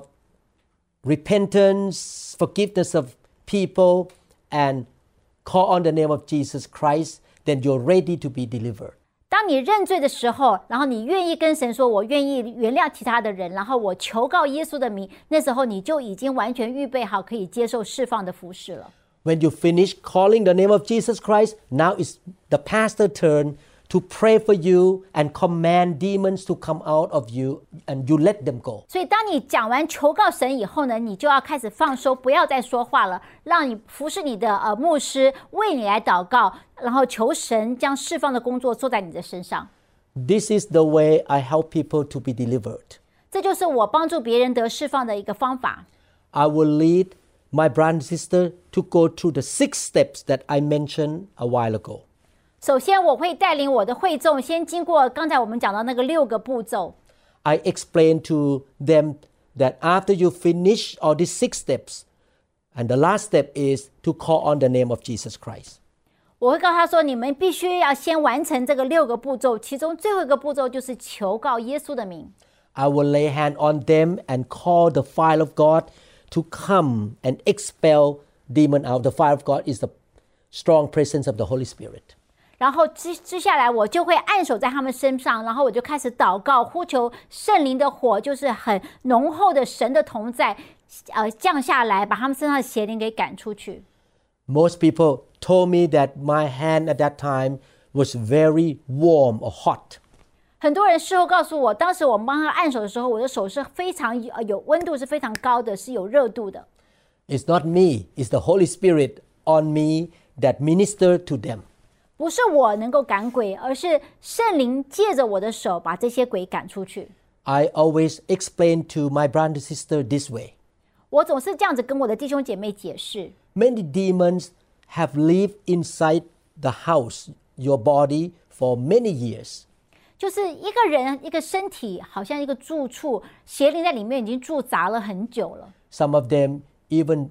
repentance, forgiveness of people, and call on the name of Jesus Christ, then you're ready to be delivered. 当你认罪的时候，然后你愿意跟神说，我愿意原谅其他的人，然后我求告耶稣的名，那时候你就已经完全预备好可以接受释放的服事了。 When you finish calling the name of Jesus Christ, now it's the pastor's turn to pray for you and command demons to come out of you and you let them go. 所以当你讲完求告神以后呢，你就要开始放收，不要再说话了，让你服侍你的呃牧师为你来祷告，然后求神将释放的工作做在你的身上。 This is the way I help people to be delivered. 这就是我帮助别人得释放的一个方法。 I will lead my brother and sister to go through the six steps that I mentioned a while ago. 首先，我会带领我的会众先经过刚才我们讲到那个六个步骤。 I explain to them that after you finish all these six steps, and the last step is to call on the name of Jesus Christ. 我会告诉他说，你们必须要先完成这个六个步骤，其中最后一个步骤就是求告耶稣的名。 I will lay hand on them and call the fire of God to come and expel demon out. The fire of God is the strong presence of the Holy Spirit. 然后接接下来我就会按手在他们身上，然后我就开始祷告，呼求圣灵的火，就是很浓厚的神的同在，呃，降下来，把他们身上的邪灵给赶出去。 Most people told me that my hand at that time was very warm or hot. 很多人事后告诉我，当时我帮他按手的时候，我的手是非常有有温度，是非常高的，是有热度的。 It's not me, it's the Holy Spirit on me that ministered to them. 不是我能够赶鬼，而是圣灵借着我的手把这些鬼赶出去。 I always explain to my brother and sister this way. 我总是这样子跟我的弟兄姐妹解释。 Many demons have lived inside the house, your body, for many years. 就是一个人一个身体好像一个住处，邪灵在里面已经驻扎了很久了。 Some of them even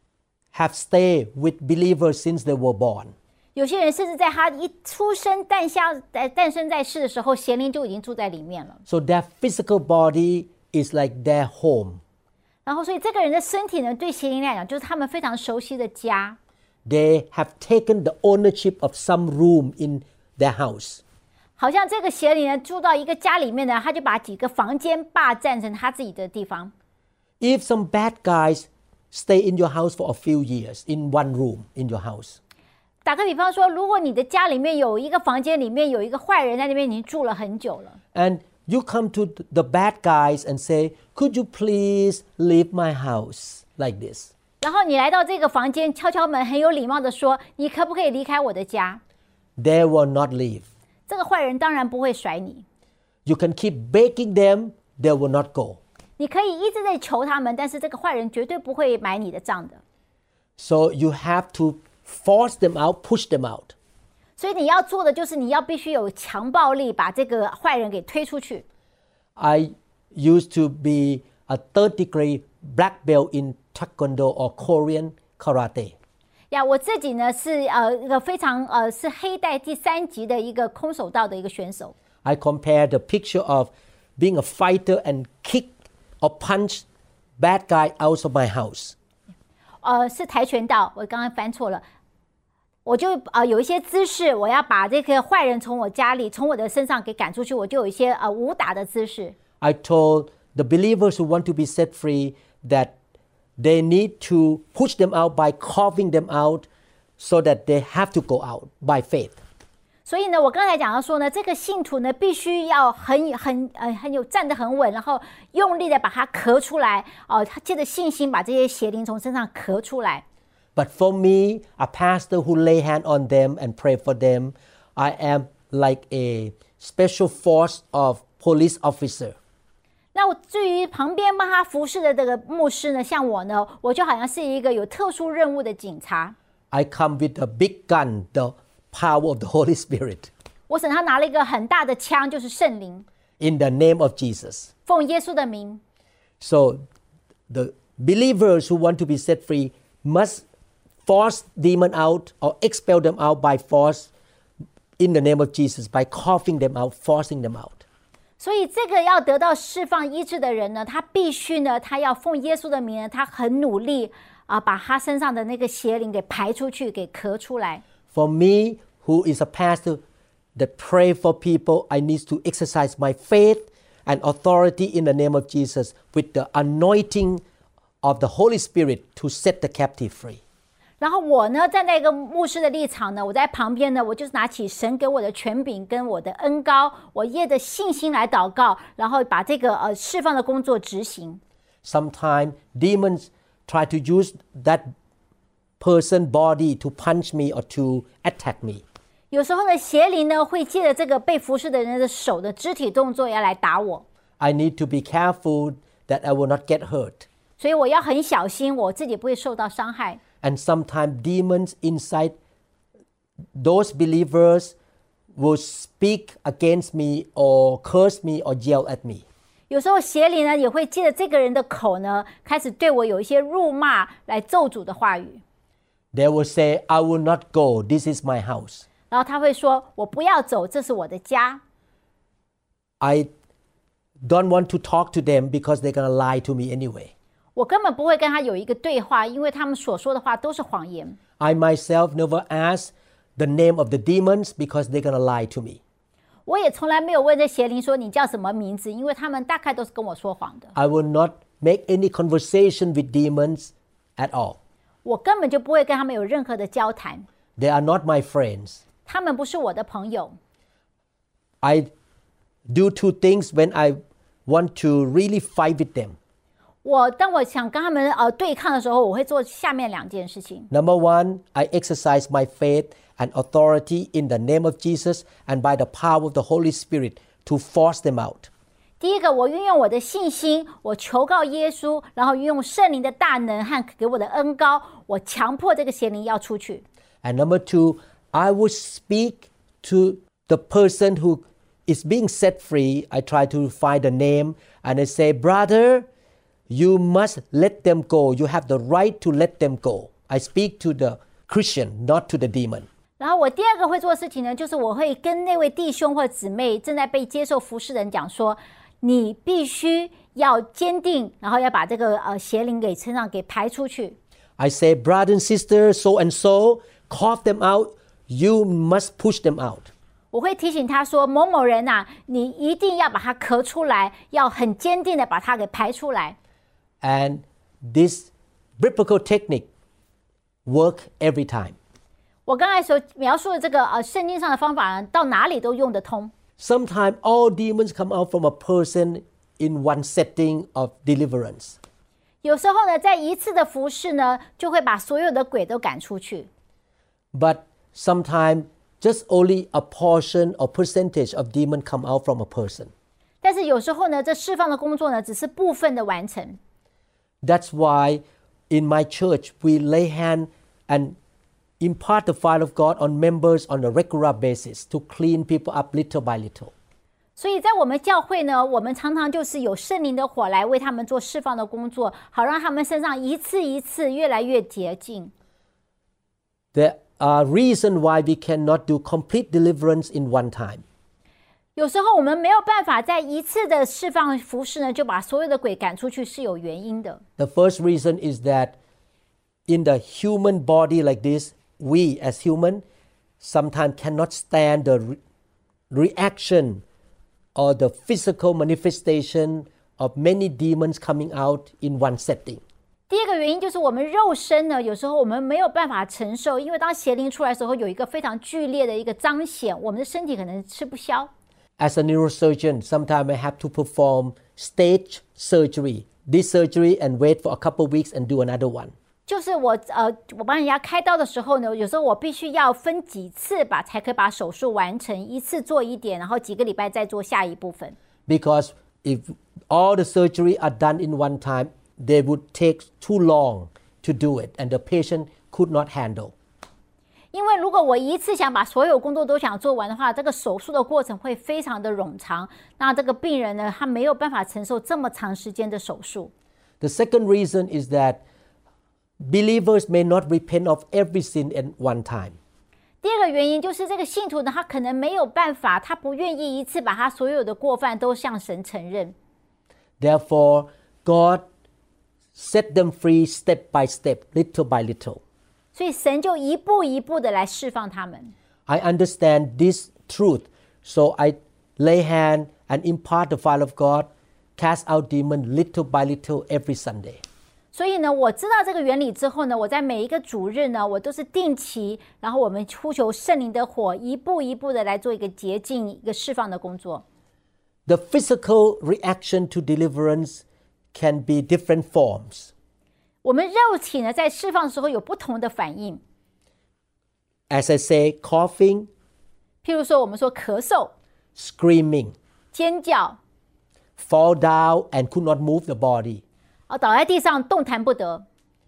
have stayed with believers since they were born. 有些人甚至在他一出生诞下诞生在世的时候，邪灵就已经住在里面了。 So their physical body is like their home. 然后，所以这个人的身体呢，对邪灵来讲，就是他们非常熟悉的家。 They have taken the ownership of some room in their house. 好像这个邪灵呢，住到一个家里面呢，他就把几个房间霸占成他自己的地方。 If some bad guys stay in your house for a few years in one room in your house. 打个比方说，如果你的家里面有一个房间里面有一个坏人在那边已经住了很久了。 And You come to the bad guys and say, could you please leave my house like this? 然后你来到这个房间，敲敲门，很有礼貌的说：“你可不可以离开我的家？” They will not leave. 这个坏人当然不会甩你。 You can keep begging them, they will not go. 你可以一直在求他们，但是这个坏人绝对不会买你的账的。 So you have to force them out, push them out. 所以你要做的就是你要必须有强暴力，把这个坏人给推出去。 I used to be a third degree black belt in Taekwondo or Korean karate. 呀，我自己呢是呃一个非常呃是黑带第三级的一个空手道的一个选手。 I compare the picture of being a fighter and kick or punch bad guy out of my house. 呃，是跆拳道，我刚刚翻错了。我就呃有一些姿势，我要把这个坏人从我家里、从我的身上给赶出去，我就有一些呃武打的姿势。 I told the believers who want to be set free that they need to push them out by coughing them out so that they have to go out by faith. 所以呢，我刚才讲到说呢，这个信徒呢必须要很很呃很有站得很稳，然后用力的把它咳出来哦，他借着信心把这些邪灵从身上咳出来。 But for me, a pastor who lay hand on them and pray for them, I am like a special force of police officer. 那我至于旁边帮他服侍的这个牧师呢，像我呢，我就好像是一个有特殊任务的警察。 I come with a big gun, the power of the Holy Spirit. 我手上拿了一个很大的枪，就是圣灵。 In the name of Jesus. 奉耶稣的名。 So the believers who want to be set free must force demon out or expel them out by force in the name of Jesus, by coughing them out, forcing them out. 所以这个要得到释放医治的人呢，他必须呢，他要奉耶稣的名呢，他很努力啊，把他身上的那个邪灵给排出去，给咳出来。 For me, who is a pastor that pray for people, I need to exercise my faith and authority in the name of Jesus with the anointing of the Holy Spirit to set the captive free. 然后我呢，站在一个牧师的立场呢，我在旁边呢，我就是拿起神给我的权柄跟我的恩膏，我借着信心来祷告，然后把这个呃释放的工作执行。 Sometimes demons try to use that person's body to punch me or to attack me. 有时候呢，邪灵呢会借着这个被服侍的人的手的肢体动作要来打我。 I need to be careful that I will not get hurt. 所以我要很小心，我自己不会受到伤害。 And sometimes demons inside those believers will speak against me or curse me or yell at me. 有时候邪灵呢也会借着这个人的口呢，开始对我有一些辱骂来咒诅的话语。 They will say, I will not go, this is my house. 然后他会说，我不要走，这是我的家。 I don't want to talk to them because they're going to lie to me anyway. 我根本不会跟他有一个对话，因为他们所说的话都是谎言。 I myself never ask the name of the demons because they're going to lie to me. 我也从来没有问这邪灵说你叫什么名字，因为他们大概都是跟我说谎的。 I will not make any conversation with demons at all. 我根本就不会跟他们有任何的交谈。 They are not my friends. 他们不是我的朋友。 I do two things when I want to really fight with them. 我当我想跟他们呃对抗的时候，我会做下面两件事情。 Number one, I exercise my faith and authority in the name of Jesus and by the power of the Holy Spirit to force them out. 第一个，我运用我的信心，我求告耶稣，然后运用圣灵的大能和给我的恩膏，我强迫这个邪灵要出去。 And number two, I will speak to the person who is being set free. I try to find a name and I say, brother, you must let them go. You have the right to let them go. I speak to the Christian, not to the demon. 然后我第二个会做的事情呢，就是我会跟那位弟兄或姊妹正在被接受服侍的人讲说，你必须要坚定，然后要把这个呃邪灵给身上给排出去。 I say, brother and sister, so and so, cough them out. You must push them out. 我会提醒他说，某某人呐、啊，你一定要把它咳出来，要很坚定的把它给排出来。 And this biblical technique work every time. 我刚才所描述的这个呃圣经上的方法呢，到哪里都用得通。 Sometimes all demons come out from a person in one setting of deliverance. 有时候呢，在一次的服事呢，就会把所有的鬼都赶出去。 But sometimes just only a portion or percentage of demon come out from a person. 但是有时候呢，这释放的工作呢，只是部分的完成。 That's why in my church we lay hand and impart the fire of God on members on a regular basis to clean people up little by little. 所以在我们教会呢，我们常常就是有圣灵的火来为他们做释放的工作，好让他们身上一次一次越来越洁净。 There are reasons why we cannot do complete deliverance in one time. 有时候我们没有办法在一次的释放服事呢，就把所有的鬼赶出去，是有原因的。 The first reason is that in the human body like this, we as human sometimes cannot stand the re- reaction or the physical manifestation of many demons coming out in one setting. 第二个原因就是我们肉身呢，有时候我们没有办法承受，因为当邪灵出来的时候，有一个非常剧烈的一个彰显，我们的身体可能吃不消。 As a neurosurgeon, sometimes I have to perform stage surgery, this surgery and wait for a couple of weeks and do another one. 就是我呃，我帮人家开刀的时候呢，有时候我必须要分几次把才可以把手术完成，一次做一点，然后几个礼拜再做下一部分。 Because if all the surgery are done in one time, they would take too long to do it, and the patient could not handle. 因为如果我一次想把所有工作都想做完的话，这个手术的过程会非常的冗长，那这个病人呢，他没有办法承受这么长时间的手术。 The second reason is that believers may not repent of every sin at one time. 第二个原因就是这个信徒呢，他可能没有办法，他不愿意一次把他所有的过犯都向神承认。 Therefore, God set them free step by step, little by little. 所以神就一步一步的来释放他们。 I understand this truth, so I lay hand and impart the fire of God, cast out demons little by little every Sunday. 所以呢，我知道这个原理之后呢，我在每一个主日呢，我都是定期，然后我们呼求圣灵的火，一步一步的来做一个洁净、一个释放的工作。 The physical reaction to deliverance can be different forms. 我们肉体呢，在释放的时候有不同的反应。 As I say, coughing, 譬如说，我们说咳嗽、 screaming, 尖叫， fall down and could not move the body, 啊，倒在地上动弹不得，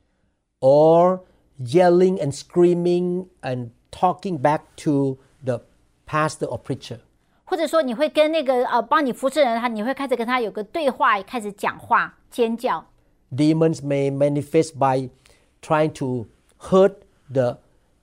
or yelling and screaming and talking back to the pastor or preacher. 或者说你会跟那个呃帮你服侍人，他你会开始跟他有个对话，开始讲话、尖叫。 Demons may manifest by trying to hurt the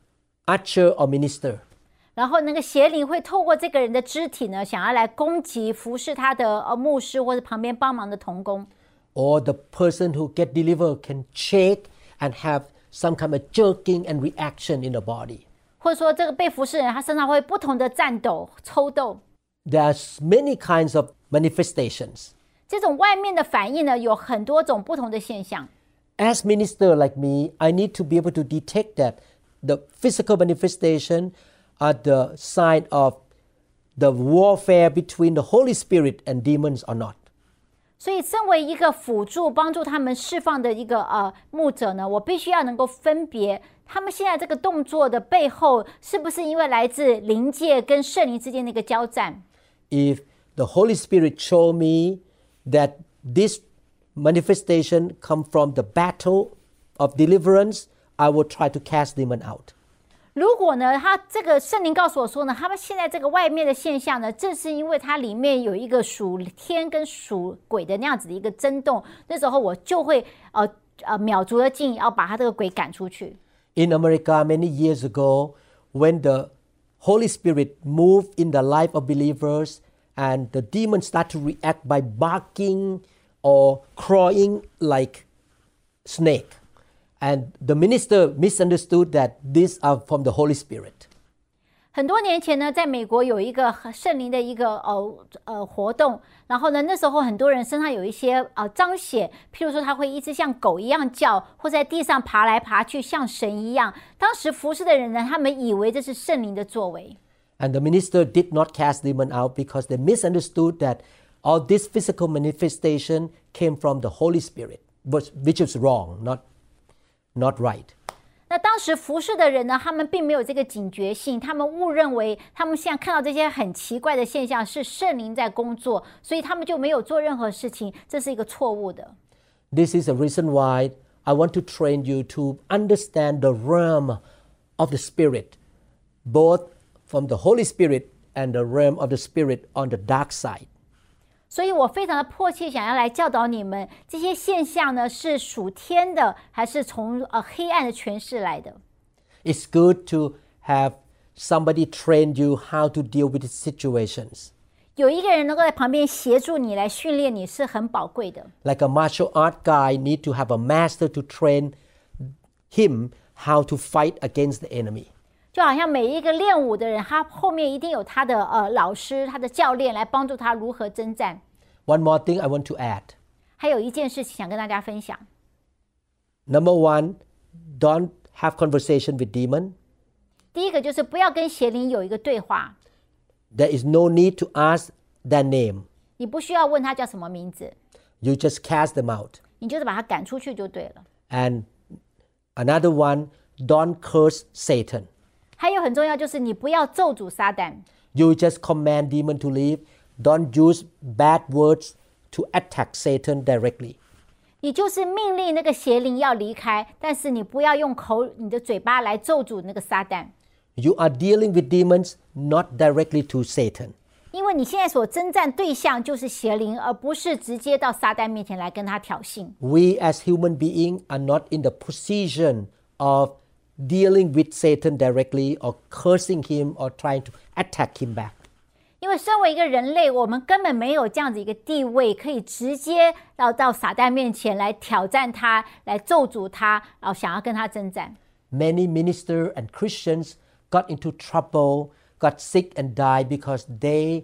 usher or minister. 然后那个邪灵会透过这个人的肢体呢，想要来攻击服侍他的呃牧师或者旁边帮忙的同工。 Or the person who get delivered can shake and have some kind of jerking and reaction in the body. 或者说这个被服侍人他身上会不同的颤抖、抽动。 There's many kinds of manifestations. 这种外面的反应呢，有很多种不同的现象。 As minister like me, I need to be able to detect that the physical manifestation are the sign of the warfare between the Holy Spirit and demons or not. 所以身为一个辅助帮助他们释放的一个呃牧者呢，我必须要能够分别他们现在这个动作的背后是不是因为来自灵界跟圣灵之间的一个交战。 If the Holy Spirit show me that this manifestation come from the battle of deliverance, I will try to cast demon out. 如果呢，他这个圣灵告诉我说呢，他们现在这个外面的现象呢，正是因为它里面有一个属天跟属鬼的那样子的一个震动，那时候我就会呃呃秒足了劲，要把他这个鬼赶出去。 In America, many years ago, when the Holy Spirit moved in the life of believers and the demons start to react by barking or clawing like snake. And the minister misunderstood that these are from the Holy Spirit. 很多年前呢，在美国有一个圣灵的一个呃呃活动，然后呢，那时候很多人身上有一些呃彰显，譬如说他会一直像狗一样叫，或在地上爬来爬去，像神一样。当时服侍的人呢，他们以为这是圣灵的作为。 And the minister did not cast demon out because they misunderstood that all this physical manifestation came from the Holy Spirit, which, which is wrong, not, not right. 那当时服侍的人呢，他们并没有这个警觉性，他们误认为他们现在看到这些很奇怪的现象是圣灵在工作，所以他们就没有做任何事情，这是一个错误的。 This is the reason why I want to train you to understand the realm of the Spirit, both from the Holy Spirit and the realm of the Spirit on the dark side. 所以我非常的迫切想要来教导你们，这些现象呢是属天的，还是从呃黑暗的权势来的？ It's good to have somebody train you how to deal with situations. 有一个人能够在旁边协助你来训练你是很宝贵的。 Like a martial art guy need to have a master to train him how to fight against the enemy. 就好像每一个练武的人，他后面一定有他的呃老师、他的教练来帮助他如何征战。 One more thing I want to add. 还有一件事情想跟大家分享。 Number one, don't have conversation with demon. 第一个就是不要跟邪灵有一个对话， There is no need to ask their name. 你不需要问他叫什么名字， You just cast them out. 你就是把他赶出去就对了。 And another one, don't curse Satan. 还有很重要就是你不要咒诅撒旦， You just command demon to leave. Don't use bad words to attack Satan directly. 你就是命令那个邪灵要离开，但是你不要用口、你的嘴巴来咒诅那个撒旦， You are dealing with demons, not directly to Satan. 因为你现在所征战对象就是邪灵，而不是直接到撒旦面前来跟他挑衅。 We as human beings are not in the position of dealing with Satan directly or cursing him or trying to attack him back. 因为身为一个人类，我们根本没有这样子一个地位，可以直接到到撒旦面前来挑战他，来咒诅他，然后想要跟他征战。 Many ministers and Christians got into trouble, got sick and died because they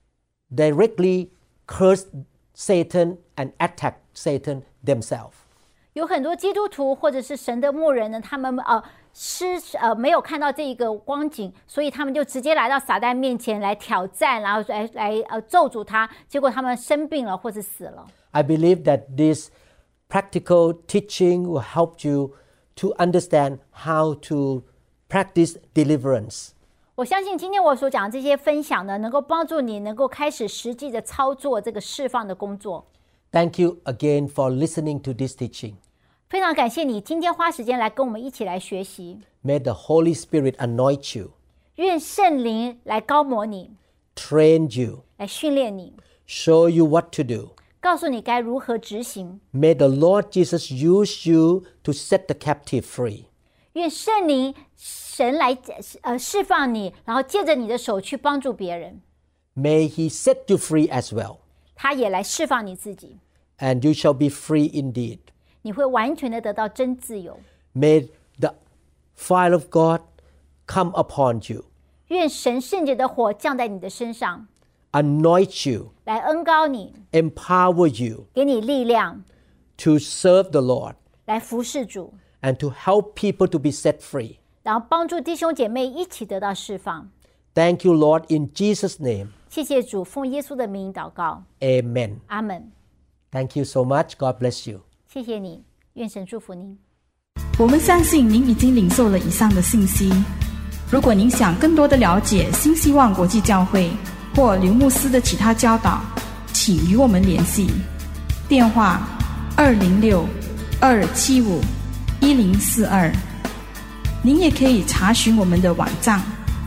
directly cursed Satan and attacked Satan themselves. 有很多基督徒或者是神的牧人呢，他们呃失呃没有看到这一个光景，所以他们就直接来到撒旦面前来挑战，然后来来呃咒诅他，结果他们生病了或是死了。 I believe that this practical teaching will help you to understand how to practice deliverance. 我相信今天我所讲的这些分享呢，能够帮助你能够开始实际的操作这个释放的工作。 Thank you again for listening to this teaching. 非常感谢你今天花时间来跟我们一起来学习。 May the Holy Spirit anoint you, 愿圣灵来高摩你， train you, 来训练你， show you what to do. 告诉你该如何执行。 May the Lord Jesus use you to set the captive free. 愿圣灵神来呃释放你，然后借着你的手去帮助别人。 May He set you free as well, 他也来释放你自己， and you shall be free indeed. 你会完全的得到真自由。 May the fire of God come upon you, 愿神圣洁的火降在你的身上， anoint you, 来恩膏你， empower you 给你力量， to serve the Lord 来服侍主， and to help people to be set free. 然后帮助弟兄姐妹一起得到释放。 Thank you, Lord, in Jesus' name. 谢谢主，奉耶稣的名祷告， Amen. 阿门。 Thank you so much. God bless you. 谢谢你，愿神祝福您。 我们相信您已经领受了以上的信息。如果您想更多的了解新希望国际教会或刘牧师的其他教导，请与我们联系。电话：二零六二七五一零四二。您也可以查询我们的网站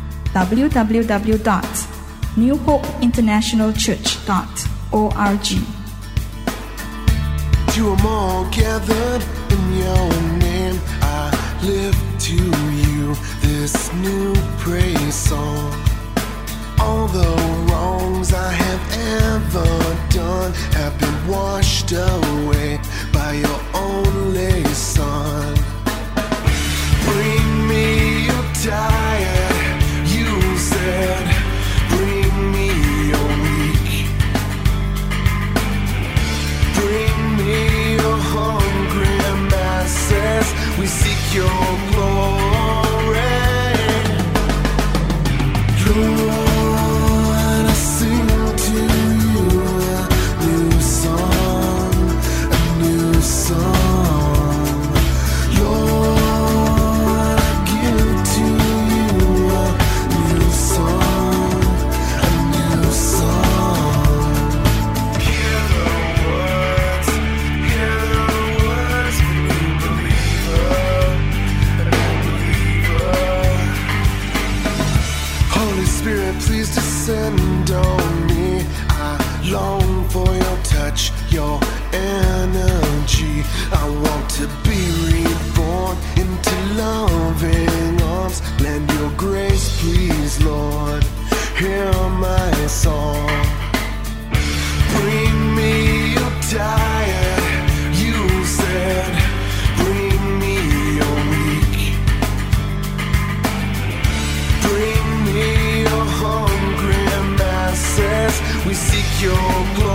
w w w dot new hope international church dot org。 To them all gathered in your name, I lift to you this new praise song. All the wrongs I have ever done have been washed away by your only Son. Bring me your tired, you said, bring me your weak. Bring me your hungry masses, we seek your glory. Lord, I sing to you a new song, a new song. Lord, I give to you a new song, a new song. Hear the words, hear the words of a new believer, a new believer. Holy Spirit, please descend on me. I long for your touch, your energy. I want to be reborn into loving arms. Lend your grace, please, Lord. Hear my song. Bring me your tired, you said. Bring me your weak. Bring me your hungry masses. We seek your glory.